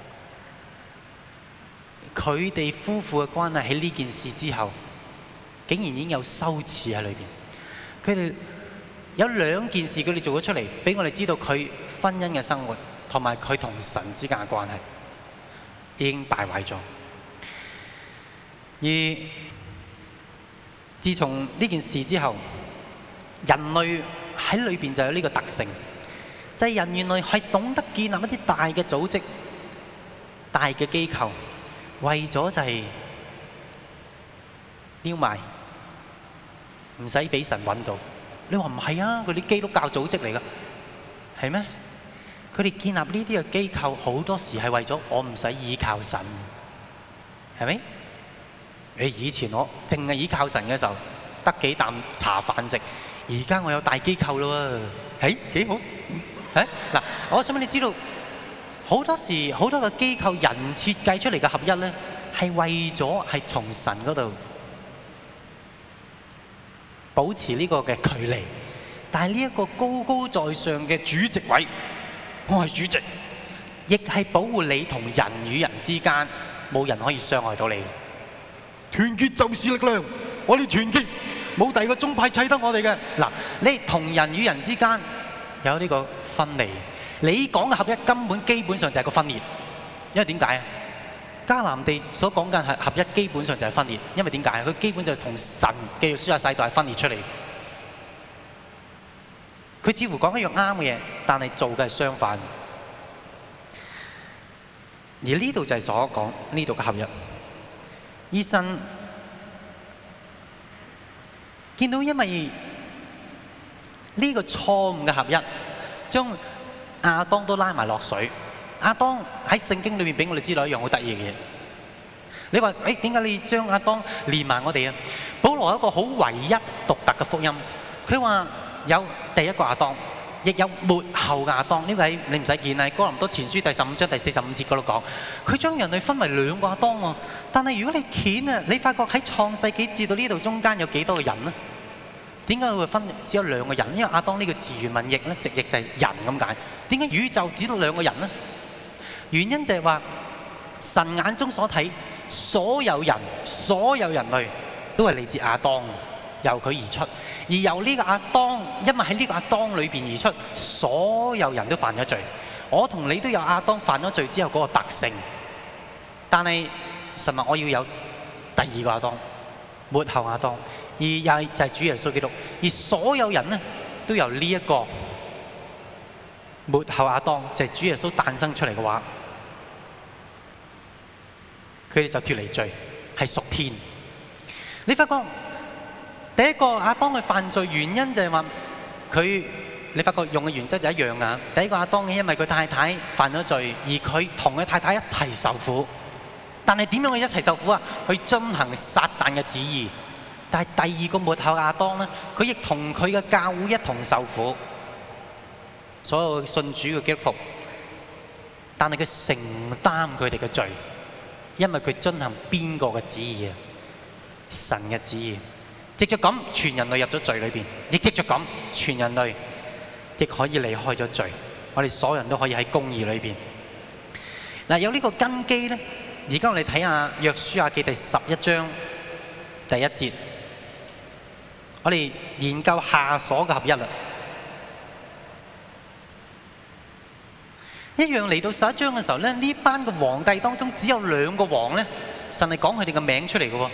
佢哋夫婦嘅關係喺呢件事之後，竟然已經有羞恥喺裏邊。佢哋有兩件事，佢哋做咗出嚟，俾我哋知道佢婚姻嘅生活同埋佢同神之間嘅關係已經敗壞咗。而自從呢件事之後，人類喺裏邊就有呢個特性，就係人原來係懂得建立一啲大嘅組織、大嘅機構，為咗就係撩埋，唔使俾神揾到。你話唔係啊？佢啲基督教組織嚟㗎，係咩？佢哋建立呢啲嘅機構，好多時係為咗我唔使依靠神，係咪？以前我淨係依靠神嘅時候，得幾啖茶飯食。而家我有大機構咯喎，幾好。嗱，我想俾你知道，好多時好多個機構人設計出嚟嘅合一咧，係為咗係從神嗰度保持呢個嘅距離。但係呢一個高高在上嘅主席位，我係主席，亦係保護你同人與人之間冇人可以傷害到你。團結就是力量，我哋團結，冇第二個宗派砌得我哋嘅。嗱，你同人與人之間有呢個分離，你講嘅合一根本基本上就係個分裂。因為點解啊？迦南地所講嘅係合一，基本上就係分裂。因為點解？佢基本就係同神嘅書亞世代係分裂出嚟。佢似乎講一樣啱嘅嘢，但係做嘅係相反。而呢度就係所講呢度嘅合一。醫生見到，因為呢個錯誤嘅合一，將亞當都拉埋落水。亞當喺聖經裏面俾我哋知道一樣好得意嘅嘢。你話點解你將亞當連埋我哋啊？保羅有一個好唯一獨特嘅福音，佢話有第一個亞當，亦有末後亞當。呢個喺你唔使見啊，哥林多前書第15章第45節嗰度講，佢將人類分為兩個亞當喎。但係如果你見啊，你發覺喺創世紀至到呢度中間有幾多個人呢？點解會分只有兩個人？因為亞當呢個字原文譯咧，直譯就係人咁解。點解宇宙只到兩個人呢？原因就係話神眼中所睇，所有人類都係嚟自亞當，由佢而出。而由呢個亞當，因為喺呢個亞當裏邊而出，所有人都犯咗罪。我同你都有亞當犯咗罪之後嗰個特性，但係神話我要有第二個亞當，末後亞當，而又係就係主耶穌基督。而所有人呢，都由呢一個末後亞當，就係主耶穌誕生出嚟嘅話，佢哋就脫離罪，係屬天。你發覺第一個亞當佢犯罪原因就係話你發覺用嘅原則就一樣啊。第一個亞當因為佢太太犯咗罪，而佢同佢太太一齊受苦。但係點樣去一齊受苦啊？去遵行撒旦嘅旨意。但係第二個末後亞當咧，佢亦同佢嘅教會一同受苦。所有信主嘅基督徒，但係佢承擔佢哋嘅罪，因為佢遵行邊個嘅旨意啊？神嘅旨意。藉著咁，全人類入咗罪裏邊；亦藉著咁，全人類亦可以離開咗罪。我哋所有人都可以喺公義裏邊。嗱，有呢個根基咧。而家我哋睇下約書亞記第11章第1節，我哋研究下所嘅合一啦。一樣嚟到11章嘅時候咧，呢班嘅皇帝當中只有2個王咧，神係講佢哋嘅名出嚟嘅喎。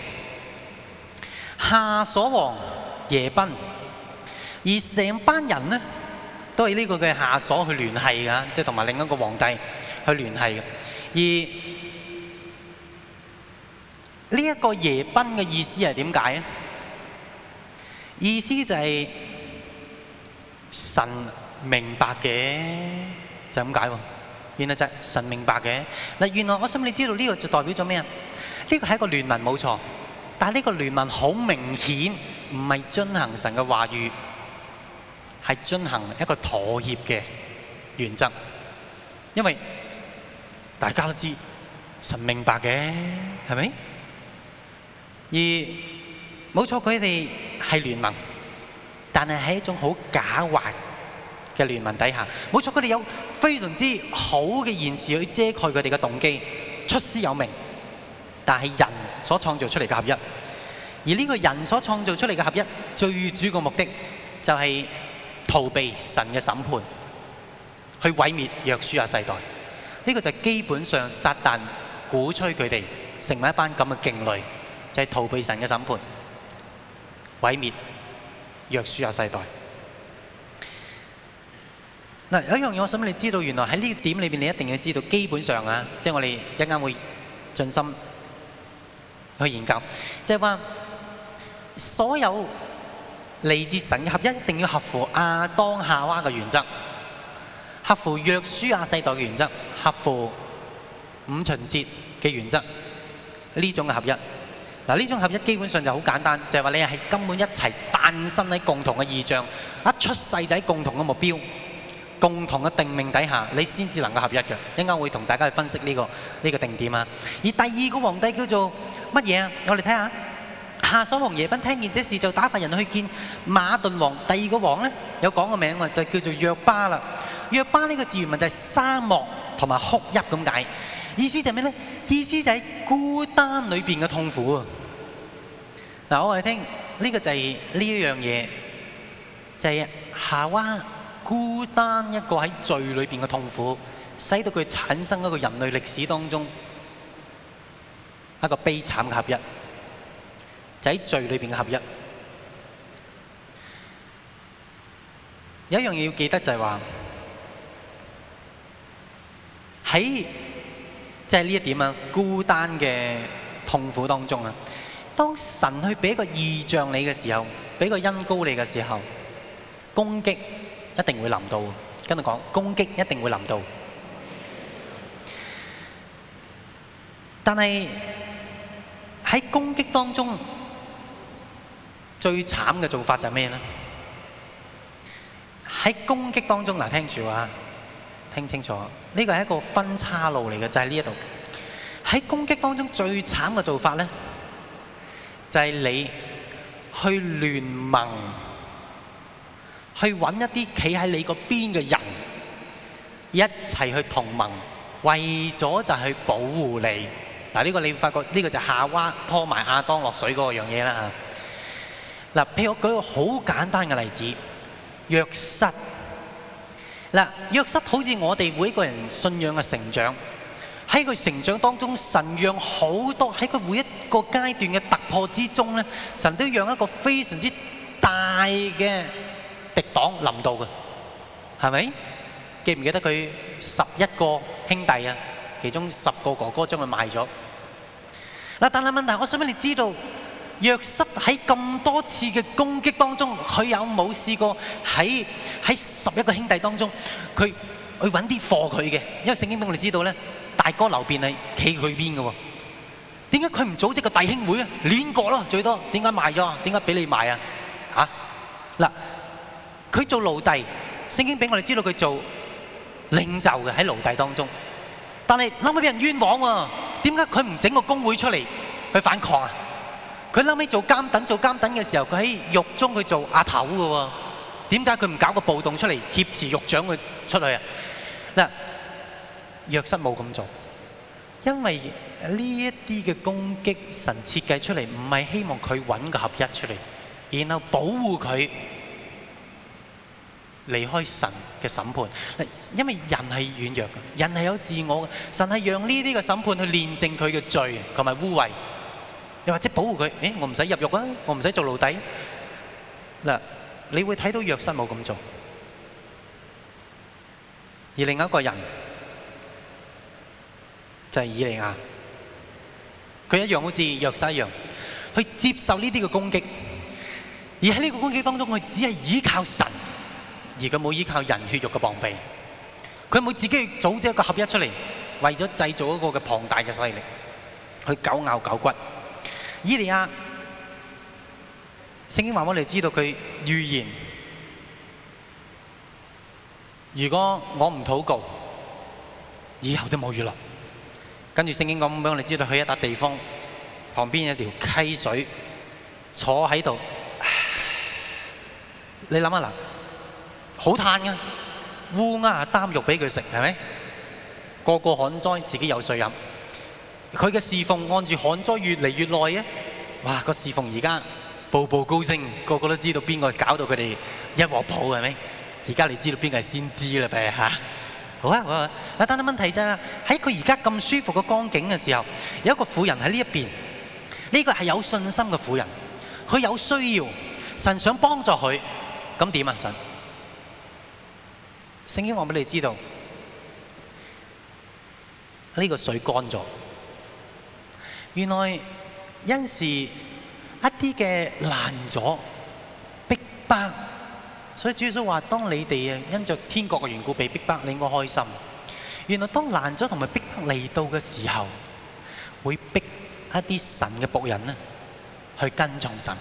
夏瑣王耶賓，而成班人咧都係呢個嘅夏瑣去聯繫㗎，即係同埋另一個皇帝去聯繫嘅。而呢一個耶賓嘅意思係點解咧？意思就係神明白嘅，就咁解喎。原來就係神明白嘅。嗱，原來我想你知道呢個就代表咗咩啊？呢個係一個聯盟冇錯，但係呢個聯盟好明顯唔係遵行神嘅話語，係遵行一個妥協嘅原則。因為大家都知神明白嘅，係咪？而冇錯，佢哋係聯盟，但係喺一種好狡猾嘅聯盟底下。冇錯，佢哋有非常之好嘅言辭去遮蓋佢哋嘅動機，出師有名。但係人所創造出嚟嘅合一，而呢個人所創造出嚟嘅合一，最主要嘅目的就係逃避神嘅審判，去毀滅約書亞世代。呢個就係基本上撒旦鼓吹佢哋成為一班咁嘅勁類。就係逃避神嘅審判，毀滅約書亞世代。嗱，有一樣嘢我想你知道，原來喺呢點裏邊，你一定要知道，基本上啊，即係我哋一陣間會盡心去研究，即係話所有嚟自神嘅合一，一定要合乎亞當夏娃嘅原則，合乎約書亞世代嘅原則，合乎五旬節嘅原則，呢種嘅合一。嗱，呢種合一基本上就好簡單，就係話你係根本一齊誕生喺共同嘅異象，一出世就喺共同嘅目標、共同嘅定命底下，你先至能夠合一嘅。一陣間會同大家去分析呢個定點啊。而第二個皇帝叫做乜嘢啊？我哋睇下，夏瑣王耶賓聽見這事，就打發人去見馬頓王。第二個王咧有講個名喎，就叫做約巴啦。約巴呢個字原文就係沙漠同埋哭泣咁解。意思就係咩咧？意思就係孤單裏邊嘅痛苦啊！嗱，我哋聽呢個就係呢一樣嘢，就係夏娃孤單一個喺罪裏邊嘅痛苦，使到佢產生一個人類歷史當中一個悲慘嘅合一，就喺罪裏邊嘅合一。有一樣嘢要記得就係話喺即係呢一點啊，孤單嘅痛苦當中啊，當神去俾一個異象你嘅時候，俾個恩膏你嘅時候，攻擊一定會臨到。跟住講，攻擊一定會臨到。但係喺攻擊當中，最慘嘅做法就係咩呢？喺攻擊當中，嗱，聽住啊！聽清楚，呢個係一個分岔路嚟嘅，就係呢一度。喺攻擊當中最慘嘅做法咧，就係你去聯盟，去揾一啲企喺你個邊嘅人，一齊去同盟，為咗就係保護你。嗱，呢個你會發覺呢個就係夏娃拖埋亞當落水嗰樣嘢啦嚇。嗱，譬如我舉個好簡單嘅例子，約瑟。嗱，約瑟好似我哋每一個人信仰嘅成長，喺佢成長當中，神讓好多喺佢每一個階段嘅突破之中咧，神都讓一個非常之大嘅敵擋臨到嘅，係咪？記唔記得佢11個兄弟啊？其中10個哥哥將佢賣咗。嗱，但係問題，我想俾你知道， 約瑟喺咁多次嘅攻擊當中，佢有冇試過喺11個兄弟當中，佢去揾啲貨佢嘅？因為聖經俾我哋知道咧，大哥流便係企佢邊嘅喎。點解佢唔組織個弟兄會啊？練過咯，最多。點解賣咗啊？點解俾你賣啊？嚇嗱，佢做奴隸，聖經俾我哋知道佢做領袖嘅喺奴隸當中，但係後尾俾人冤枉喎。點解佢唔整個工會出嚟去反抗啊？佢後尾做監躉嘅時候，佢喺獄中去做阿頭嘅喎。點解佢唔搞個暴動出嚟挾持獄長佢出去啊？嗱，約瑟冇咁做，因為呢一啲嘅攻擊，神設計出嚟唔係希望佢揾個合一出嚟，然後保護佢離開神嘅審判。因為人係軟弱嘅，人係有自我嘅，神係讓呢啲嘅審判去煉淨佢嘅罪同埋污穢。又或者保護佢，我唔使入獄啊，我唔使做奴隸。嗱，你會睇到約瑟冇咁做，而另一個人就係以利亞，佢一樣好似約瑟一樣，去接受呢啲嘅攻擊，而喺呢個攻擊當中，佢只係依靠神，而佢冇依靠人血肉嘅膀臂，佢冇自己去組織一個合一出嚟，為咗製造一個嘅龐大嘅勢力，去狗咬狗骨。以利亞，聖經話我哋知道佢預言，如果我唔禱告，以後都冇雨落。跟住聖經講俾我哋知道，去一笪地方旁邊有條溪水，坐喺度。你諗下嗱，好嘆㗎，烏鴉擔肉俾佢食，係咪？個個旱災，自己有水飲。佢嘅侍奉按住旱災越嚟越耐啊！哇，個侍奉而家步步高升，個個都知道邊個搞到佢哋一鑊泡，係咪？而家你知道邊個係先知啦，呗嚇！好啊，好啊。但係問題就係喺佢而家咁舒服嘅光景嘅時候，有一個婦人喺呢一邊，呢個係有信心嘅婦人，佢有需要，神想幫助佢，咁點啊？神聖經話俾你知道，呢個水乾咗。原來因是一啲嘅難咗、逼迫，所以主耶穌話：當你哋因着天國嘅緣故被逼迫，你應該開心。原來當難咗同埋逼迫嚟到嘅時候，會逼一啲神嘅僕人呢去跟從神。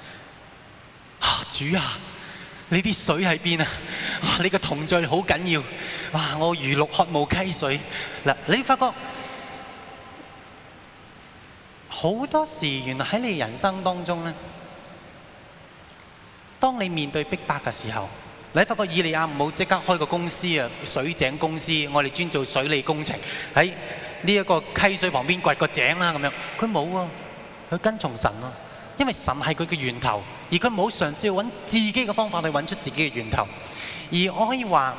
主啊，你啲水喺邊啊？你嘅同在好緊要。哇！我如鹿渴慕溪水。嗱，你發覺好多時，原來喺你人生當中咧，當你面對逼迫嘅時候，你發覺以利亞唔好即刻開個公司啊，水井公司，我哋專做水利工程，喺呢一個溪水旁邊掘個井啦咁樣。佢冇啊，佢跟從神啊，因為神係佢嘅源頭，而佢冇嘗試揾自己嘅方法去揾出自己嘅源頭。而我可以話，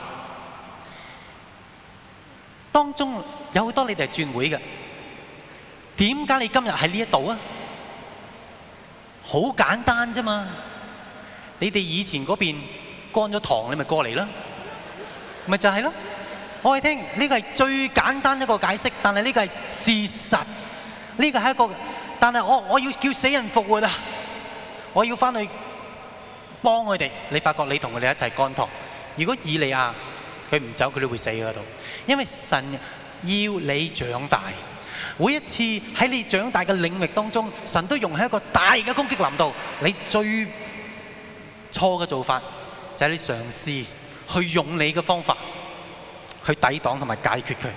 當中有好多你哋係轉會嘅。點解你今日喺呢一度啊？好簡單啫嘛！你哋以前嗰邊乾咗塘，你咪過嚟啦，咪就係咯。我哋聽呢個係最簡單一個解釋，但係呢個係事實。呢個係一個，但係我要叫死人復活啊！我要翻去幫佢哋。你發覺你同佢哋一齊乾塘。如果以利亞佢唔走，佢都會死喺度，因為神要你長大。每一次喺你長大嘅領域當中，神都用喺一個大嘅攻擊臨到你。最錯嘅做法就係你嘗試去用你嘅方法去抵擋同埋解決佢。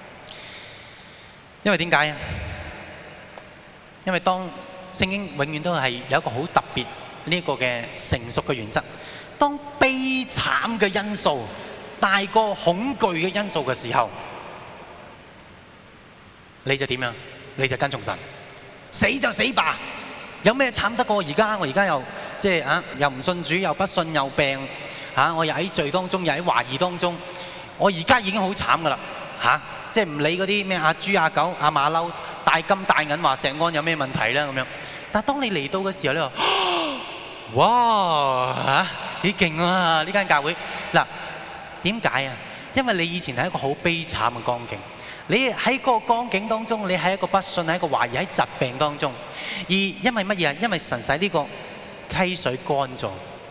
因為點解啊？因為當聖經永遠都係有一個好特別呢個嘅成熟嘅原則，當悲慘嘅因素大過恐懼嘅因素嘅時候，你就點樣？你就跟從神，死就死吧。有咩慘得過而家？我而家又即係又唔信主，又不信，又病我又喺罪當中，又喺懷疑當中。我而家已經好慘噶啦即係唔理嗰啲咩阿豬阿狗阿馬騮大金大銀話石安有咩問題啦咁樣。但係當你嚟到嘅時候，你話哇幾勁啊！呢間教會嗱，點解啊？因為你以前係一個好悲慘嘅光景。 你喺嗰個光景當中，你喺一個不信，喺一個懷疑，喺疾病當中。而因為乜嘢啊？因為神使呢個溪水乾咗。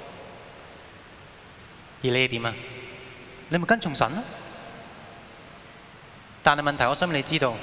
而你係點啊？你咪跟從神咯。但係問題，我想你知道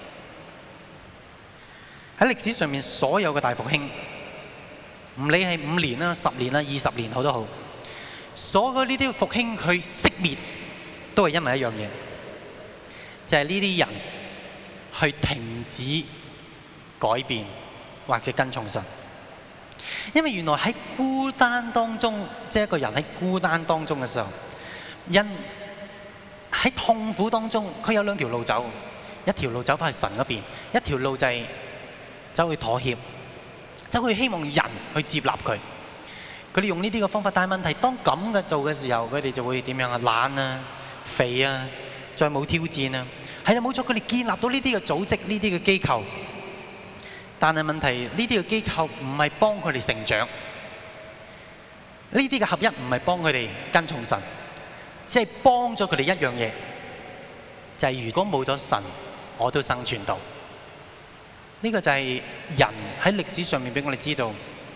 喺歷史上面所有嘅大復興，唔理係5年啦、10年啦、20年好都好，所有呢啲復興去熄滅，都係因為一樣嘢，就係呢啲人去停止改變或者跟從神。因為原來喺孤單當中，即係一個人喺孤單當中嘅時候，人喺痛苦當中，佢有2條路走，一條路走返去神嗰邊，一條路就係走去妥協，走去希望人去接納佢。佢哋用呢啲嘅方法，但係問題當咁嘅做嘅時候，佢哋就會點樣啊？懶啊、肥啊，再冇挑戰啊。係啊，冇錯，佢哋建立到呢啲嘅組織、呢啲嘅機構。但係問題，呢啲嘅機構唔係幫佢哋成長，呢啲嘅合一唔係幫佢哋跟從神，只係幫咗佢哋一樣嘢，就係如果冇咗神，我都生存到。呢個就係人喺歷史上面俾我哋知道，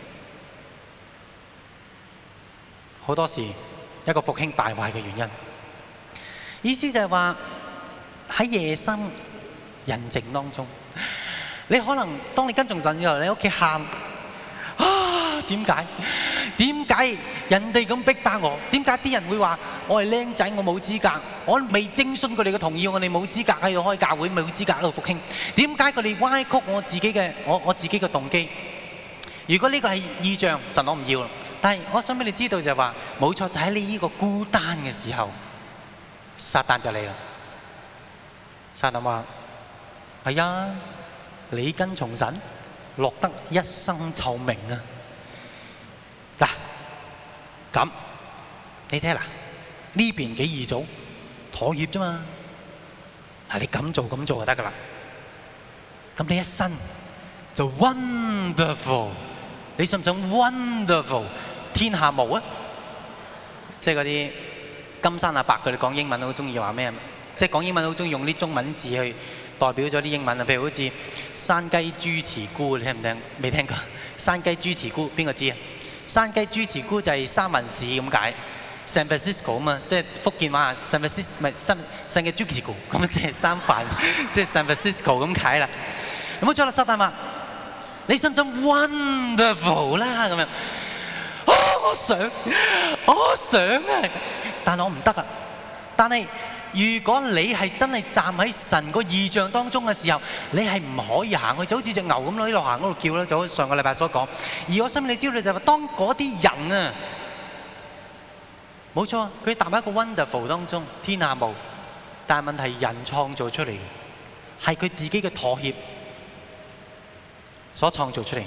好多時一個復興敗壞嘅原因。意思就係話喺夜深人靜當中。你可能當你跟從神之後，你喺屋企喊啊！點解？點解人哋咁逼迫我？點解啲人會話我係僆仔，我冇資格？我未徵詢佢哋嘅同意，我哋冇資格喺度開教會，冇資格喺度復興。點解佢哋歪曲我自己嘅動機？如果呢個係異象，神我唔要啦。但係我想俾你知道就係話，冇錯，就喺你呢個孤單嘅時候，撒旦就嚟啦。撒旦話：係啊。你跟從神，落得一身臭名啊！嗱，咁你睇下嗱，呢邊幾易做，妥協啫嘛。係你咁做就得噶啦。咁你一生就 wonderful， 你信唔信 wonderful 天下無啊？即係嗰啲金山阿伯佢哋講英文好中意話咩？即係講英文好中意用啲中文字去代表咗啲英文啊，譬如好似山雞豬慈菇，你聽唔聽？未聽過？山雞豬慈菇邊個知啊？山雞豬慈菇就係三藩市咁解 ，San Francisco 啊嘛，即係福建話 San Francisco 唔係山雞豬慈菇，咁即係三藩，即係 San Francisco 咁解啦。冇錯啦，撒旦話：你信唔信 wonderful 啦？咁樣，我想啊，但係我唔得啊，但係。如果你係真係站喺神個異象當中嘅時候，你係唔可以行去，就好似隻牛咁喺度行嗰度叫啦，就好似上個禮拜所講。而我想你知道就係話，當嗰啲人啊，冇錯，佢踏喺一個 wonderful 當中，天下無，但係問題人創造出嚟嘅，係佢自己嘅妥協所創造出嚟。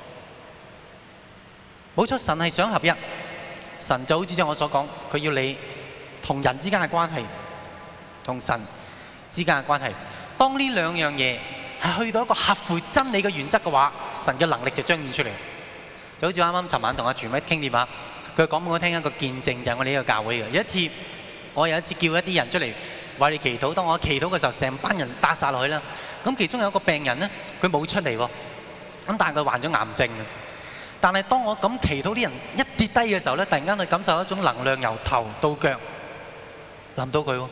冇錯，神係想合一，神就好似我所講，佢要你同人之間嘅關係。同神之間嘅關係，當呢兩樣嘢係去到一個合乎真理嘅原則嘅話，神嘅能力就彰顯出嚟。就好似啱啱尋晚同阿傳偉傾電話，佢講俾我聽一個見證，就係我哋呢個教會嘅。我有一次叫一啲人出嚟為你祈禱，當我祈禱嘅時候，成班人打晒落去啦。咁其中有一個病人咧，佢冇出嚟喎，咁但係佢患咗癌症。但係當我咁祈禱，啲人一跌低嘅時候咧，突然間佢感受一種能量由頭到腳臨到佢喎。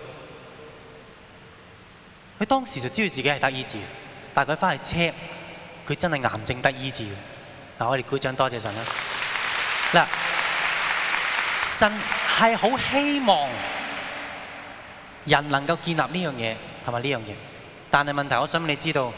佢當時就知道自己係得醫治，但係佢翻去 check，佢真係癌症得醫治。嗱，我哋鼓掌多謝神啦！嗱，神係好希望人能夠建立呢樣嘢同埋呢樣嘢，但係問題，我想你知道，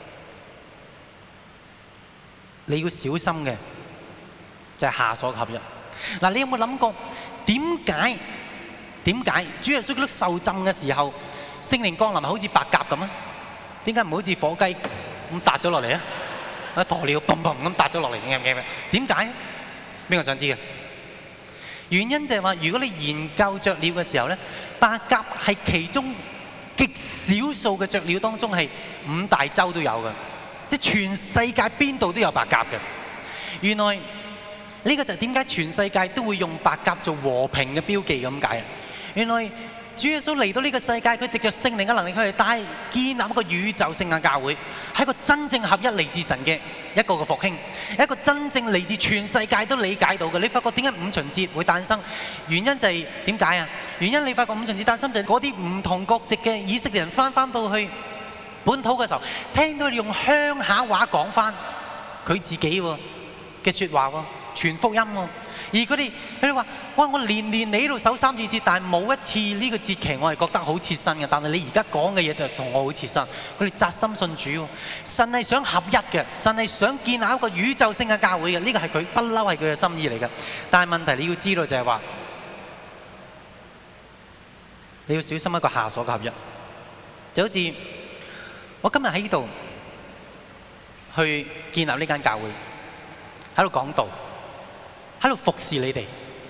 你要小心嘅就係下所合一。嗱，你有冇諗過點解主耶穌基督受浸嘅時候？聖靈降臨係好似白鴿咁啊？點解唔好似火雞咁笪咗落嚟啊？鴕鳥砰砰咁笪咗落嚟，點解？邊個想知嘅？原因就係話，如果你研究雀鳥嘅時候咧，白鴿係其中極少數嘅雀鳥當中係5大洲都有嘅，即係全世界邊度都有白鴿嘅。原來呢個就係點解全世界都會用白鴿做和平嘅標記咁解啊？原來主耶穌嚟到呢個世界，佢藉着聖靈嘅能力，佢係建立一個宇宙性嘅教會，係一個真正合一嚟自神嘅一個嘅復興，一個真正嚟自全世界都理解到嘅。你發覺點解五旬節會誕生？原因就係點解啊？原因你發覺五旬節誕生就係嗰啲唔同國籍嘅以色列人翻到去本土嘅時候，聽到你用鄉下話講翻佢自己嘅説話喎，傳福音喎。而佢哋話：哇！我年年嚟呢度守3次節，但係冇一次呢個節期我係覺得好切身嘅。但係你而家講嘅嘢就同我好切身。佢哋扎心信主喎。神係想合一嘅，神係想建立一個宇宙性嘅教會嘅。呢個係佢不嬲係佢嘅心意嚟嘅。但係問題你要知道就係話，你要小心一個下鎖嘅合一。就好似我今日喺呢度去建立呢間教會，喺度講道，喺度服侍你哋。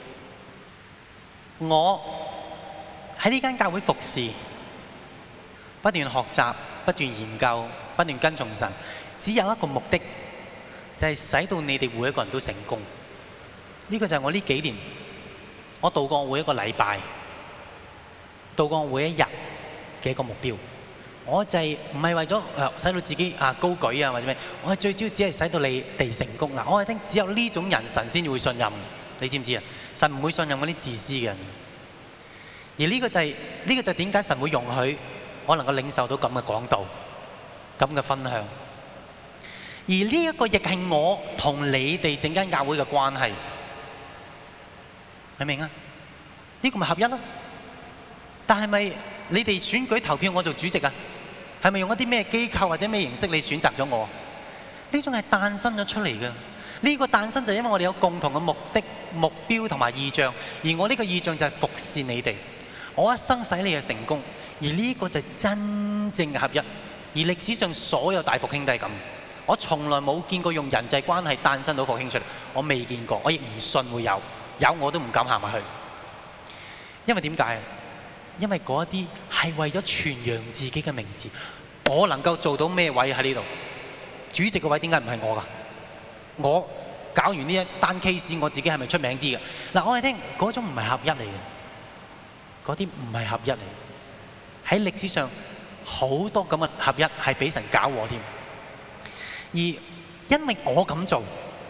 我喺呢間教會服侍，不斷學習，不斷研究，不斷跟從神，只有一個目的，就係使到你哋每一個人都成功。呢個就係我呢幾年我度過每一個禮拜，度過每一日嘅一個目標。我就係唔係為咗使到自己高舉啊或者咩？我係最主要只係使到你哋成功嗱。我係聽只有呢種人神先會信任，你知唔知啊？神唔會信任嗰啲自私嘅人。而呢個就係點解神會容許我能夠領受到咁嘅講道、咁嘅分享。而呢一個亦係我同你哋整間教會嘅關係，明唔明啊？呢個咪合一咯。但係咪你哋選舉投票我做主席啊？係咪用一啲咩機構或者咩形式你選擇咗我？呢種係誕生咗出嚟嘅。呢個誕生就係因為我哋有共同嘅目的、目標同埋意象。而我呢個意象就係服侍你哋，我一生使你哋成功。而呢個就係真正嘅合一。而歷史上所有大復興都係咁。我從來冇見過用人際關係誕生到復興出嚟，我未見過，我亦唔信會有，有我都唔敢行埋去。因為點解？因為嗰啲係為咗傳揚自己嘅名字。我能夠做到咩位喺呢度？主席嘅位點解唔係我㗎？我搞完呢一單 case， 我自己係咪出名啲嘅？嗱，我哋聽嗰種唔係合一嚟嘅，嗰啲唔係合一嚟。喺歷史上好多咁嘅合一係俾神搞禍添。而因為我咁做，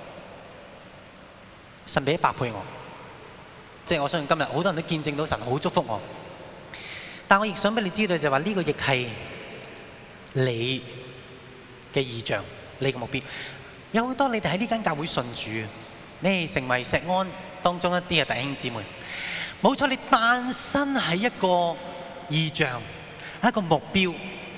神俾100倍我，即係我相信今日好多人都見證到神好祝福我。但我亦想俾你知道就係話呢個亦係你嘅意象，你嘅目標。有好多你哋喺呢間教會信主，你哋成為石安當中一啲嘅弟兄姊妹。冇錯，你誕生喺一個意象、一個目標、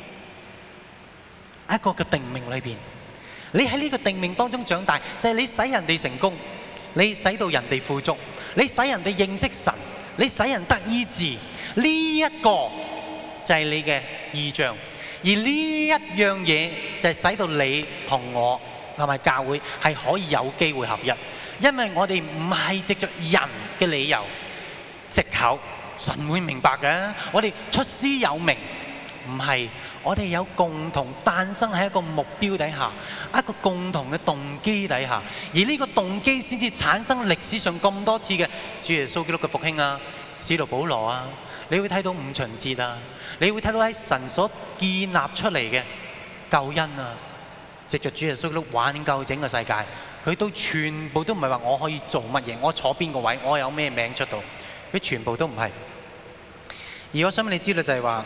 一個嘅定命裏邊。你喺呢個定命當中長大，就係你使人哋成功，你使到人哋富足，你使人哋認識神，你使人得醫治。呢一個就係你嘅意象，而呢一樣嘢就係使到你同我同埋教會係可以有機會合一，因為我哋唔係藉着人嘅理由、藉口，神會明白嘅。我哋出師有名，唔係，我哋有共同誕生喺一個目標底下，一個共同嘅動機底下，而呢個動機先至產生歷史上咁多次嘅主耶穌基督嘅復興啊，使徒保羅啊。你會睇到五旬節啊，你會睇到喺神所建立出嚟嘅救恩啊，藉着主耶穌基督挽救整個世界，佢都全部都唔係話我可以做乜嘢，我坐邊個位，我有咩名出到，佢全部都唔係。而我想俾你知道就係話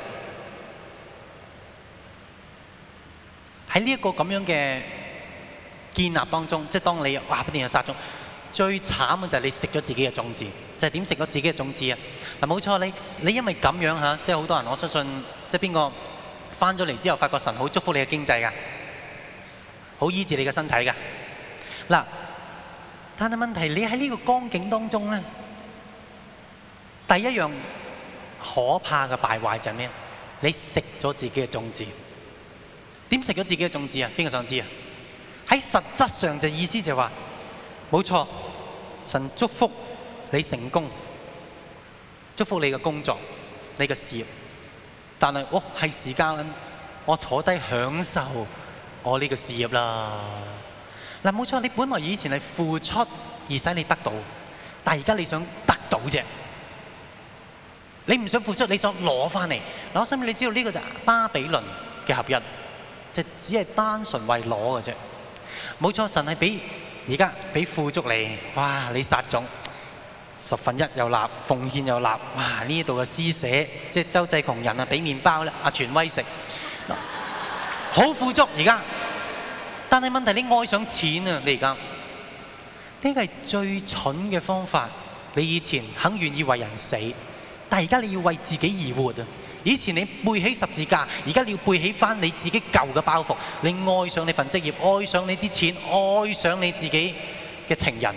喺呢一個咁樣嘅建立當中，即係當你不斷有撒種，最慘嘅就係你食咗自己嘅種子。就係點食咗自己嘅種子啊？嗱，冇錯，你因為咁樣嚇，即係好多人，我相信即係邊個翻咗嚟之後，發覺神好祝福你嘅經濟㗎，好醫治你嘅身體㗎。嗱，但係問題你喺呢個光景當中咧，第一樣可怕嘅敗壞就係咩？你食咗自己嘅種子。點食咗自己嘅種子啊？邊個想知啊？喺實質上就意思就係話，冇錯，神祝福你成功，祝福你嘅工作、你嘅事業，但係係時間，我坐低享受我呢個事業啦。嗱，冇錯，你本來以前係付出而使你得到，但係而家你想得到啫。 你唔想付出，你想攞翻嚟。嗱，我想俾你知道呢個就係巴比倫嘅合一，就只係單純為攞嘅啫。冇錯，神係俾而家俾富足你，哇！你撒種1/10又立，奉獻又立，哇！呢度嘅施捨，即係周濟窮人啊，俾麵包咧，阿權威食，好富足而家。但係問題你愛上錢啊！你而家呢個係最蠢嘅方法。你以前肯願意為人死，但係而家你要為自己而活啊！以前你背起十字架，而家你要背起翻你自己舊嘅包袱。你愛上你份職業，愛上你啲錢，愛上你自己嘅情人。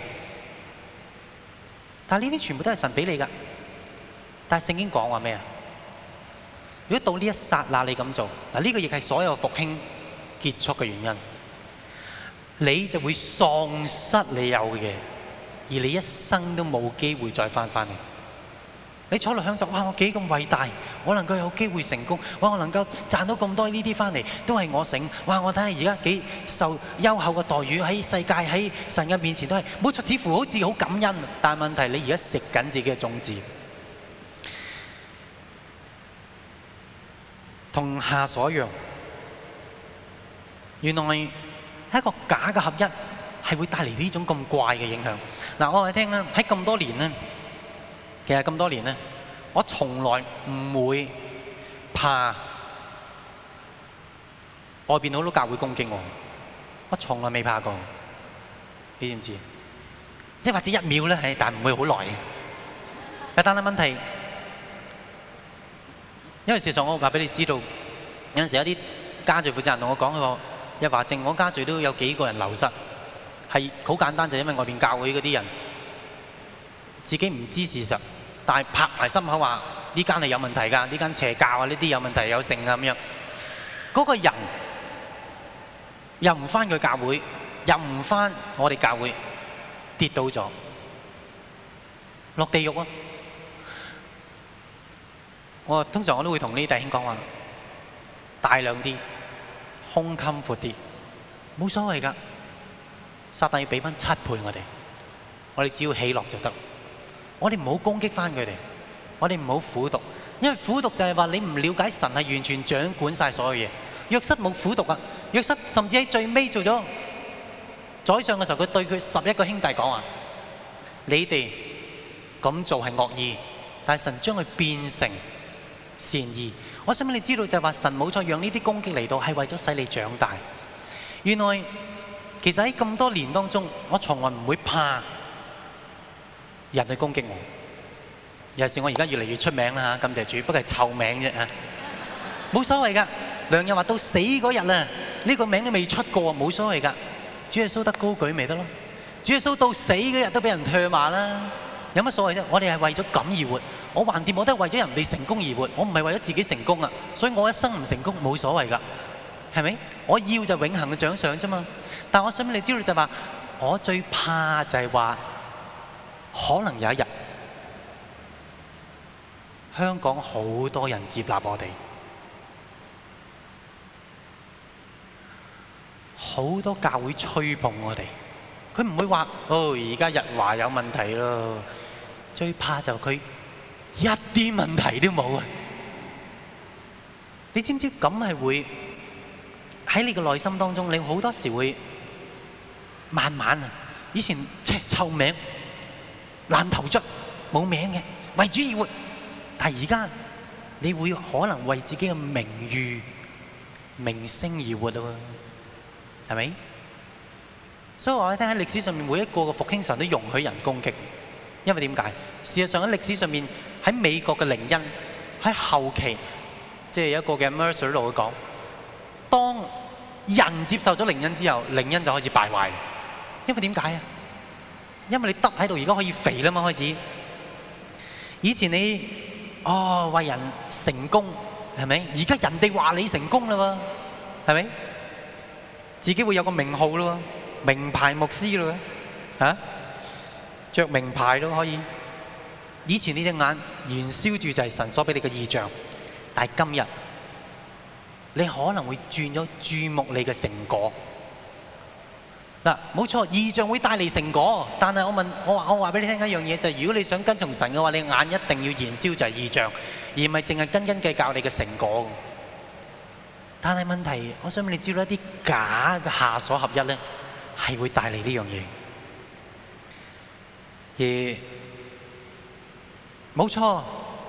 但係呢啲全部都係神俾你㗎。但係聖經講話咩啊？如果到呢一剎那你咁做，嗱，呢個亦係所有復興結束嘅原因。你就會喪失你有嘅嘢，而你一生都冇機會再翻嚟。你坐落享受，哇！我幾咁偉大，我能夠有機會成功，哇！我能夠賺到咁多呢啲翻嚟，都係我醒。哇！我睇下而家幾受優厚嘅待遇，喺世界喺神嘅面前都係冇錯，似乎好似好感恩。但係問題你而家食緊自己嘅種子，同下所一樣。原來係一個假嘅合一，係會帶嚟呢種咁怪嘅影響。嗱，我話你聽啦，喺咁多年咧。其實咁多年咧，我從來唔會怕外邊好多教會攻擊我，我從來未怕過。你知唔知？即係或者1秒咧，但唔會好耐嘅。但係問題，因為事實上我話俾你知道，有陣時有啲家聚負責人同我講，佢話日華正我家聚都有幾個人流失，係好簡單，就因為外邊教會嗰啲人自己唔知事實。但係拍埋心口話呢間係有問題㗎，呢間邪教啊，呢啲有問題有性啊咁樣。嗰個人又唔返佢教會，又唔返我哋教會，跌倒咗，落地獄啊！我通常我都會同呢啲弟兄講話，大量啲，胸襟闊啲，冇所謂㗎。撒旦要俾翻7倍我哋只要喜樂就得。我哋唔好攻擊翻佢哋，我哋唔好苦毒，因為苦毒就係話你唔了解神係完全掌管晒所有嘢。約瑟冇苦毒啊，約瑟甚至喺最尾做咗宰相嘅時候，佢對佢11個兄弟講話：你哋咁做係惡意，但係神將佢變成善意。我想俾你知道就係話神冇錯，讓呢啲攻擊嚟到係為咗使你長大。原來其實喺咁多年當中，我從來唔會怕人去攻擊我，尤其是我而家越嚟越出名啦嚇，感謝主，不過係臭名啫嚇，冇所謂噶。梁日華到死嗰日啊，呢個名都未出過，冇所謂噶。主耶穌得高舉咪得咯？主耶穌到死嗰日都俾人唾罵啦，有乜所謂啫？我哋係為咗咁而活，我橫掂我都係為咗人哋成功而活，我唔係為咗自己成功啊，所以我一生唔成功冇所謂噶，係咪？我要就永恆嘅獎賞啫嘛。但我想俾你知道就係話，我最怕就係話，可能有一日，香港好多人接納我哋，好多教會吹捧我哋，佢唔會話哦，而家日華有問題咯。最怕就佢一啲問題都冇啊！你知唔知咁係會喺你嘅內心當中，你好多時會慢慢啊，以前臭名。爛頭卒冇名嘅，為主而活。但係而家你會可能為自己嘅名譽、名聲而活咯，係咪？所以我話你聽，喺歷史上面每一個嘅復興神都容許人攻擊，因為點解？事實上喺歷史上面，喺美國嘅靈恩喺後期，即係有一個嘅 Mercer 度會講，當人接受咗靈恩之後，靈恩就開始敗壞。因為點解啊？因為你得喺度，而家可以肥啦嘛，開始。以前你為人成功係咪？而家人哋話你成功啦喎，係咪？自己會有個名號咯，名牌牧師咯，嚇，著名牌都可以。以前呢隻眼燃燒住就係神所俾你嘅異象，但係今日你可能會轉咗注目你嘅成果。 嗱，冇錯，異象會帶嚟成果，但係我話俾你聽一樣嘢，就係如果你想跟從神嘅話，你眼一定要燃燒就係異象，而唔係淨係斤斤計較你嘅成果。但係問題，我想俾你知道一啲假嘅下所合一咧，係會帶嚟呢樣嘢。而冇錯，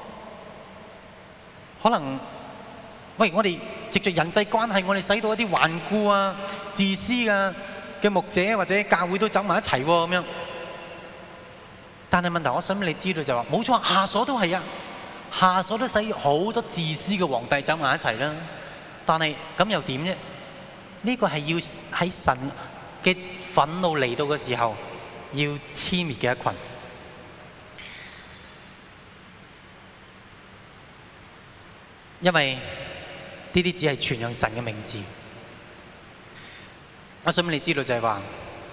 可能喂我哋藉著人際關係，我哋使到一啲頑固啊、自私啊嘅牧者或者教會都走埋一齊喎咁樣。但係問題，我想俾你知道就係話，冇錯，下所都係啊，下所都使好多自私嘅皇帝走埋一齊啦。但係咁又點啫？呢個係要喺神嘅憤怒嚟到嘅時候，要殲滅嘅一群。因為呢啲只係傳揚神嘅名字。我想俾你知道就係話，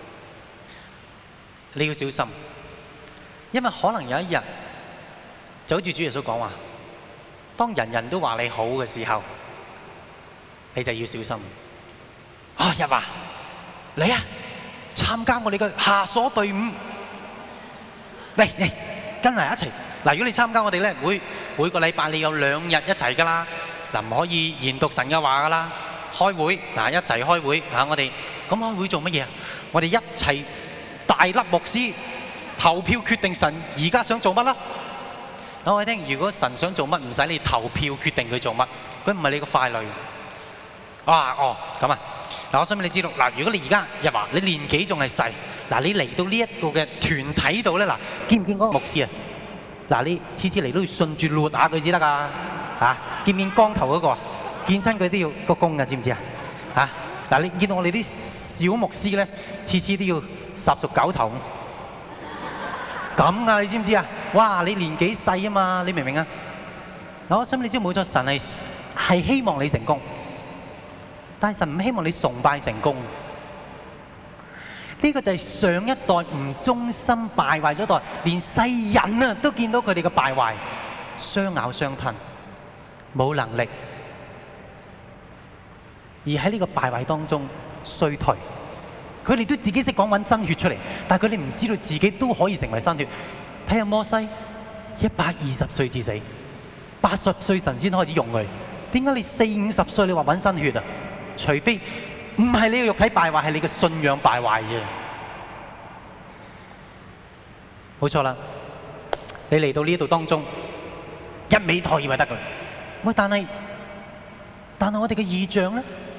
你要小心，因為可能有一日就好似主耶穌講話，當人人都話你好嘅時候，你就要小心。日華，嚟啊，參加我哋嘅下所隊伍，嚟跟埋一齊。嗱，如果你參加我哋咧，每個禮拜你有2日一齊噶啦，嗱，唔可以研讀神嘅話噶啦，開會嗱，一齊開會嚇，我哋咁開會做乜嘢啊？我哋一齊大粒牧師投票決定神而家想做乜啦。我哋聽，如果神想做乜，唔使你投票決定佢做乜，佢唔係你個傀儡。咁啊！嗱，我想俾你知道，嗱，如果你而家日華，你年紀仲係細，嗱，你嚟到呢一個嘅團體度咧，嗱，見唔見嗰個牧師啊？嗱，你次次嚟都要順住捋下佢至得㗎，嚇！見唔見光頭嗰個？見親佢都要鞠躬㗎，知唔知啊？嚇！嗱，你見到我哋啲小牧師咧，次次都要10熟9頭咁啊！你知唔知啊？哇！你年紀細啊嘛，你明唔明啊？嗱，我想你知冇錯，神係希望你成功。但係神唔希望你崇拜成功，呢個就係上一代唔忠心敗壞咗一代，連世人啊都見到佢哋嘅敗壞，相咬相吞，冇能力，而喺呢個敗壞當中衰退。佢哋都自己識講揾新血出嚟，但係佢哋唔知道自己都可以成為新血。睇下摩西120歲至死，80歲神先開始用佢。點解你40-50歲你話揾新血啊？除非唔係你嘅肉體敗壞，係你嘅信仰敗壞啫。冇錯啦，你嚟到呢度當中，一味妥協就得㗎。喂，但係我哋嘅異象咧，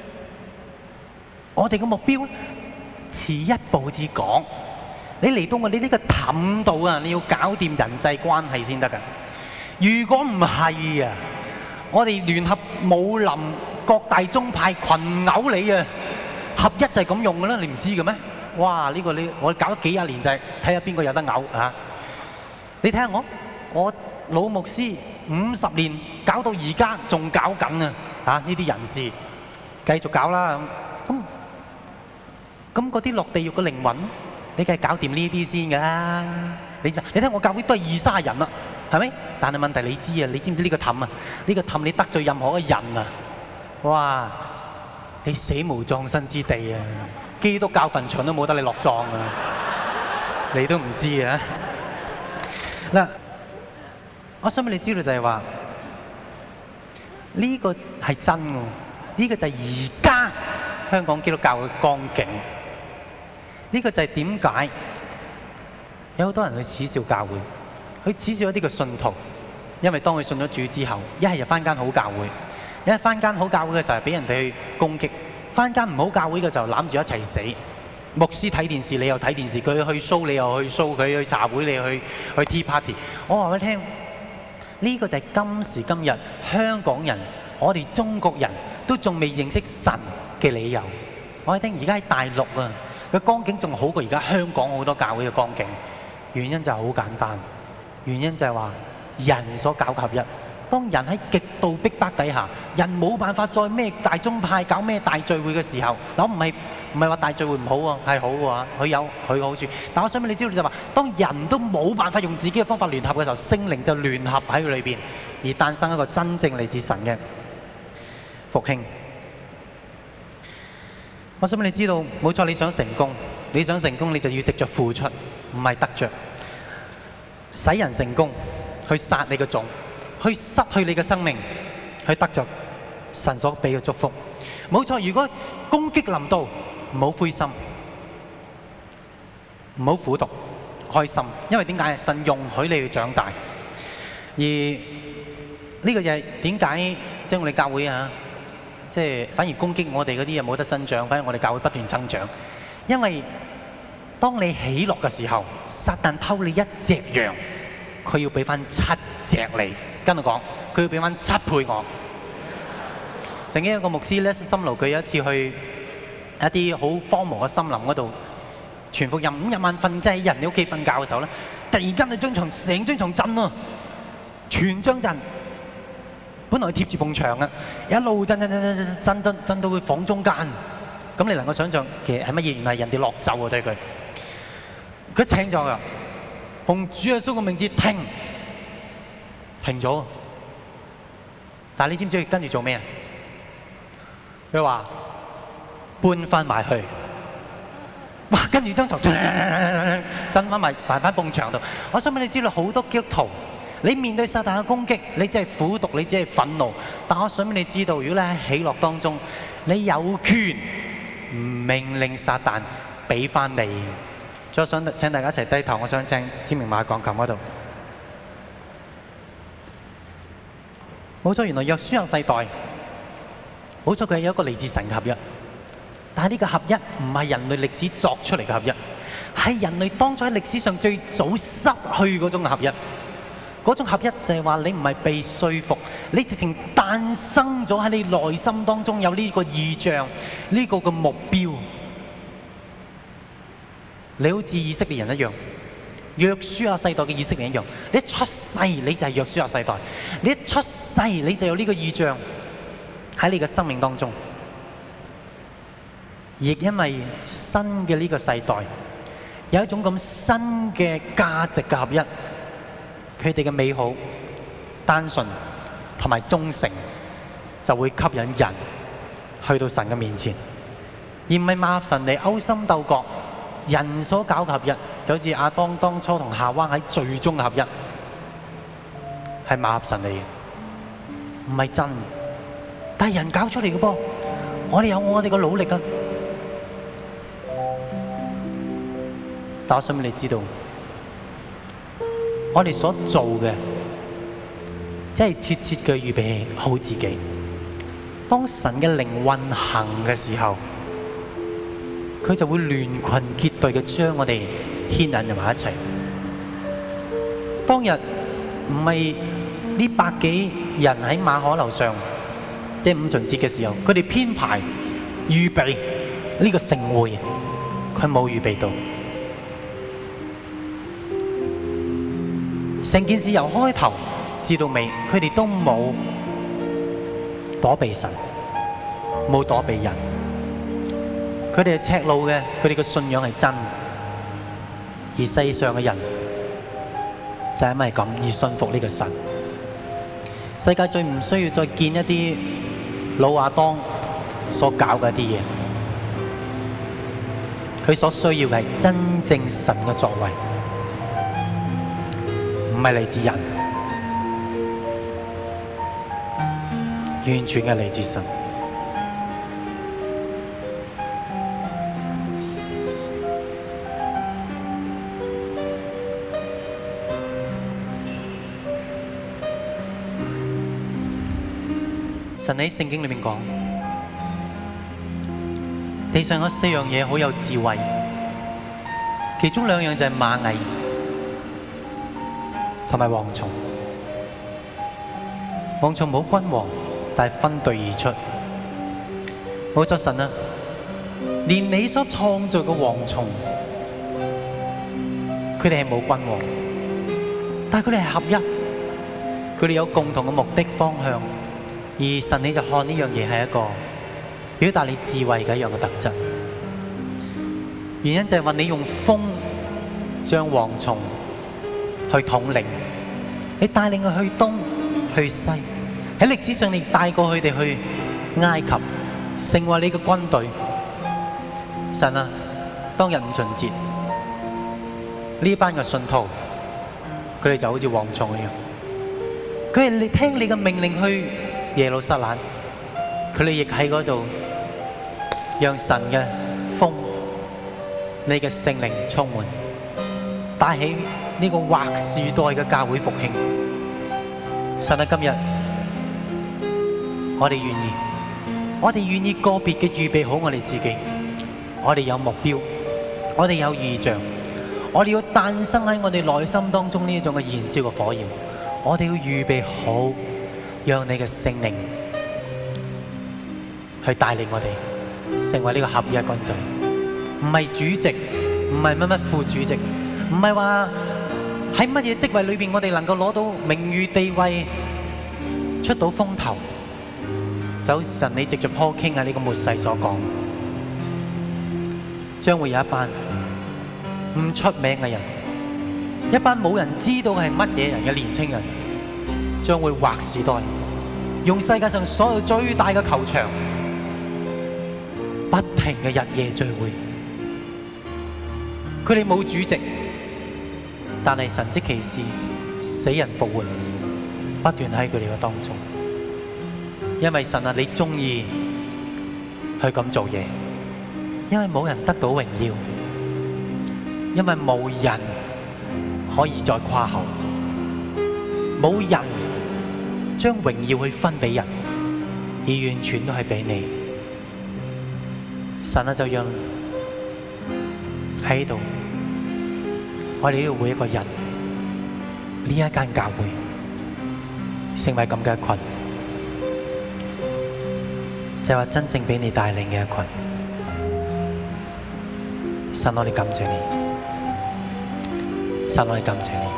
我哋嘅目標咧，遲一步至講。你嚟到我哋呢個氹度啊，你要搞掂人際關係先得㗎。如果唔係啊，我哋聯合武林各大宗派群毆你啊，合一就係咁用㗎啦，你唔知嘅咩？哇！呢個我搞咗幾廿年就係睇下邊個有得毆啊！你睇下我老牧師50年搞到而家仲搞緊啊！呢啲人士繼續搞啦咁嗰啲落地獄嘅靈魂，你梗係搞掂呢啲先㗎啦！你睇我教會都係20-30人啦，係咪？但係問題你知唔知呢個氹啊？呢個氹你得罪任何嘅人啊！哇！你死無葬身之地啊！基督教墳場都冇得你落葬啊！你都唔知啊！嗱，我想俾你知道就係話，呢個係真嘅，呢個就係而家香港基督教嘅光景。呢個就係點解有好多人去恥笑教會，去恥笑一啲嘅信徒，因為當佢信咗主之後，一係就返間好教會。一返間好教會嘅時候，俾人哋去攻擊；返間唔好教會嘅時候，攬住一齊死。牧師睇電視，你又睇電視；佢去 show，你又去 show；佢去茶會，你去 tea party。我話俾你聽，呢個就係今時今日香港人，我哋中國人都仲未認識神嘅理由。我哋聽而家喺大陸啊，個光景仲好過而家香港好多教會嘅光景。原因就係好簡單，原因就係話人所搞嘅合一。當人喺極度逼迫底下，人冇辦法再咩大宗派搞咩大聚會嘅時候，我唔係話大聚會唔好喎，係好喎，佢有佢嘅好處。但我想俾你知道就係話，當人都冇辦法用自己嘅方法聯合嘅時候，聖靈就聯合喺佢裏邊，而誕生一個真正嚟自神嘅復興。我想俾你知道，冇錯，你想成功， 你想成功，你就要藉着付出，唔係得着。使人成功，去殺你嘅種，去失去你嘅生命，去得着神所俾嘅祝福。冇錯，如果攻擊臨到，唔好灰心，唔好苦毒，開心，因為點解？神容許你去長大。而呢個就係點解即係我哋教會啊，即係反而攻擊我哋嗰啲嘢冇得增長，反而我哋教會不斷增長。因為當你喜樂嘅時候，撒旦偷你一隻羊，佢要俾翻7隻你。跟我講，佢要俾翻7倍我。曾經有個牧師咧，心勞佢有一次去一啲好荒蕪嘅森林嗰度傳福音，咁有晚瞓，即係人哋屋企瞓覺嘅時候咧，突然間成張床震啊，全張震。本來貼住埲牆啊，一路震到佢房中間。咁你能夠想象其實係乜嘢？原來係人哋落咒啊對佢。佢請咗㗎，奉主耶穌嘅名字停咗。但係你知唔知佢跟住做咩啊？佢話搬翻埋去，哇！跟住張床震翻埋翻埲牆度。我想俾你知道，好多基督徒，你面對撒旦嘅攻擊，你只係苦毒，你只係憤怒。但我想俾你知道，如果你喺喜樂當中，你有權命令撒旦俾翻你。所以我想請大家一齊低頭，我想請思明馬鋼琴嗰度。冇錯，原來約書亞世代。冇錯，佢係有一個嚟自神嘅合一，但係呢個合一唔係人類歷史作出嚟嘅合一，係人類當初喺歷史上最早失去嗰種合一。嗰種合一就係話你唔係被說服，你直情誕生咗喺你內心當中有呢個意象，呢個嘅目標。你好似以色列人一樣，約書亞世代嘅以色列人一樣，你一出世你就係約書亞世代，你一出世你就有呢個意象喺你嘅生命當中。亦因為新嘅呢個世代有一種咁新嘅價值嘅合一，佢哋嘅美好、單純同埋忠誠就會吸引人去到神嘅面前，而唔係馬合神嚟勾心鬥角。人所搞嘅合一就好似亞當當初同夏娃喺最終嘅合一，係馬合神嚟嘅，唔係真。但係人搞出嚟嘅噃，我哋有我哋嘅努力啊！但我想俾你知道，我哋所做嘅，即係切切嘅預備好自己。當神嘅靈運行嘅時候，佢就會聯群結隊嘅將我哋牽引埋一齊。當日唔係呢百幾人喺馬可樓上，即係五旬節嘅時候，佢哋編排預備呢個盛會，佢冇預備到。成件事由開頭至到尾，佢哋都冇躲避神，冇躲避人。佢哋係赤露嘅，佢哋嘅信仰係真，而世上嘅人就係因為咁而信服呢個神。世界最唔需要再見一啲老亞當所搞嘅一啲嘢，佢所需要嘅係真正神嘅作為，唔係嚟自人，完全係嚟自神。神喺聖經裏面講，地上有4樣嘢好有智慧，其中2樣就係螞蟻同埋蝗蟲。蝗蟲冇君王，但係分隊而出。冇咗神啊，連你所創造嘅蝗蟲，佢哋係冇君王，但係佢哋係合一，佢哋有共同嘅目的方向。而神你就看呢樣嘢係一個表達你智慧嘅一樣嘅特質。原因就係話你用風將蝗蟲去統領，你帶領佢去東去西。喺歷史上你帶過佢哋去埃及，成為你嘅軍隊。神啊， 當日五旬節，呢班嘅信徒，佢哋就好似蝗蟲一樣，佢係聽你嘅命令去耶路撒冷，佢哋亦喺嗰度讓神嘅風、你嘅聖靈充滿，帶起呢個劃時代嘅教會復興。神啊，今日我哋願意，我哋願意個別嘅預備好我哋自己，我哋有目標，我哋有異象，我哋要誕生喺我哋內心當中呢一種嘅燃燒嘅火焰，我哋要預備好，讓你嘅聖靈去帶領我哋成為呢個合一軍隊，唔係主席，唔係乜乜副主席，唔係話喺乜嘢職位裏邊我哋能夠攞到名譽地位，出到風頭。就好似神你藉着Paul King喺呢個末世所講，將會有一班唔出名嘅人，一班冇人知道係乜嘢人嘅年青人，將會劃時代，用世界上所有最大嘅球場，不停嘅日夜聚會。佢哋冇主席，但係神蹟奇事、死人復活，不斷喺佢哋嘅當中。因為神啊，你中意去咁做嘢，因為冇人得到榮耀，因為冇人可以再誇口，冇人將榮耀去分俾人，而完全都係俾你。神啊，就讓喺度，我哋呢度每一個人，呢一間教會成為咁嘅一群。就係話真正俾你帶領嘅一群，神我哋感謝你，神我哋感謝你，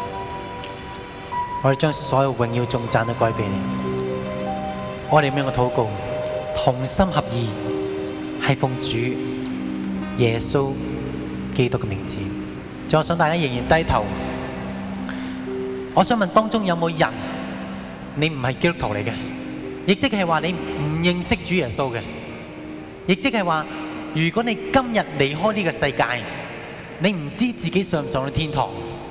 我哋將所有榮耀頌讚都歸俾你。我哋咁樣嘅禱告，同心合意，係奉主耶穌基督嘅名字。就我想大家仍然低頭，我想問當中有冇人，你唔係基督徒嚟嘅？亦即係話你唔認識主耶穌嘅，亦即係話如果你今日離開呢個世界，你唔知自己上唔上到天堂。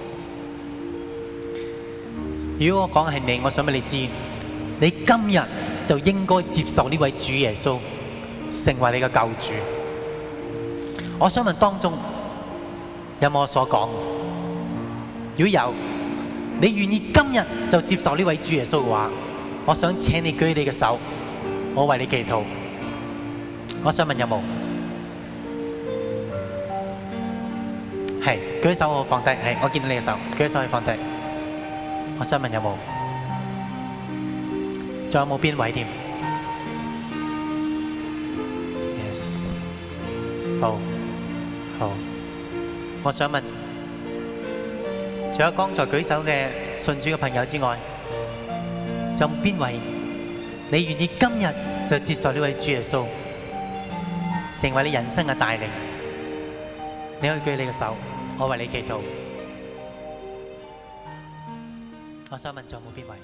如果我講係你，我想俾你知，你今日就應該接受呢位主耶穌成為你嘅救主。我想問當中有冇我所講？如果有，你願意今日就接受呢位主耶穌嘅話，我想請你舉你嘅手，我為你祈禱。我想問有冇？係，舉手我放低。係，我見到你嘅手，舉手可以放低。我想問有冇？仲有冇邊位添 ？Yes， 好，好。我想問，除咗剛才舉手嘅信主嘅朋友之外，仲有邊位你願意今日就接受呢位主耶穌成為你人生嘅帶領？你可以舉你嘅手，我為你祈禱。我想問仲有冇邊位？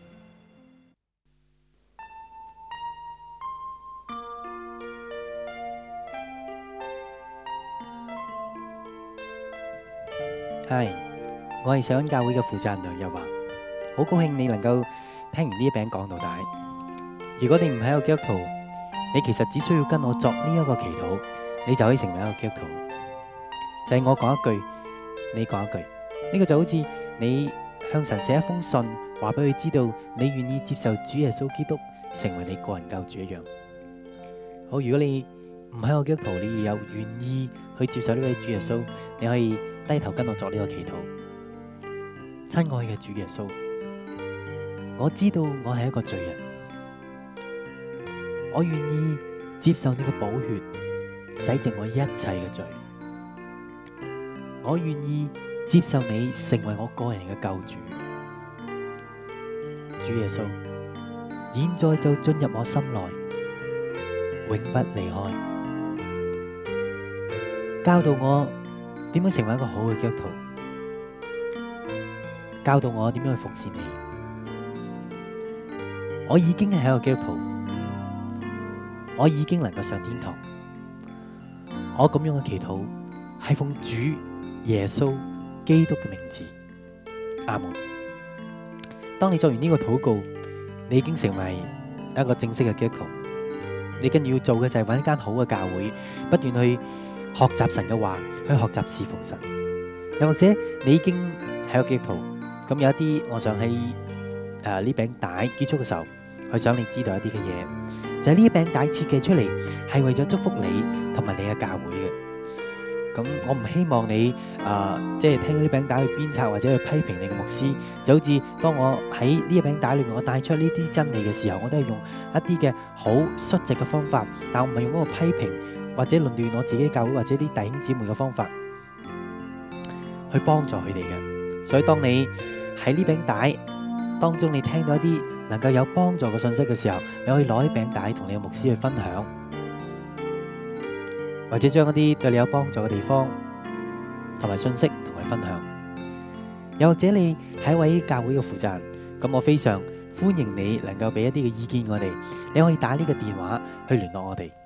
係，我係上恩教會嘅負責人梁日華，好高興你能夠聽完呢一餅講到底。如果你唔係一個基督徒，你其實只需要跟我作呢一個祈禱，你就可以成為一個基督徒。就係我講一句，你講一句，呢個就好似你向神寫一封信，話俾佢知道你願意接受主耶穌基督成為你個人救主一樣。好，如果你唔係一個基督徒，你有願意去接受呢位主耶穌，你可以低頭跟我作呢個祈禱。親愛嘅主耶穌，我知道我係一個罪人，我願意接受你嘅寶血洗淨我一切嘅罪，我願意接受你成為我個人嘅救主。主耶穌，現在就進入我心內，永不離開，教導我點樣成為一個好嘅基督徒，教導我點樣去服侍你。我已經係一個基督徒，我已經能夠上天堂。我咁樣嘅祈禱係奉主耶穌基督嘅名字，阿門。當你做完呢個禱告，你已經成為一個正式嘅基督徒。你跟住要做嘅就係揾一間好嘅教會，不斷去學習神嘅話，去學習侍奉神。又或者你已經係個基督徒，咁有一啲，我想喺呢餅帶結束嘅時候，去想你知道一啲嘅嘢，就係呢一餅帶設計出嚟係為咗祝福你同埋你嘅教會嘅。咁我唔希望你即係聽到呢餅帶去鞭策或者去批評你嘅牧師，就好似當我喺呢一餅帶裏面我帶出呢啲真理嘅時候，我都係用一啲嘅好率直嘅方法，但我唔係用嗰個批評或者論斷我自己教會或者啲弟兄姊妹嘅方法去幫助佢哋嘅。所以當你喺呢餅帶當中你聽到一啲能夠有幫助嘅信息嘅時候，你可以攞啲餅帶同你嘅牧師去分享，或者將一啲對你有幫助嘅地方同埋信息同佢分享。又或者你係一位教會嘅負責人，咁我非常歡迎你能夠俾一啲嘅意見我哋。你可以打呢個電話去聯絡我哋。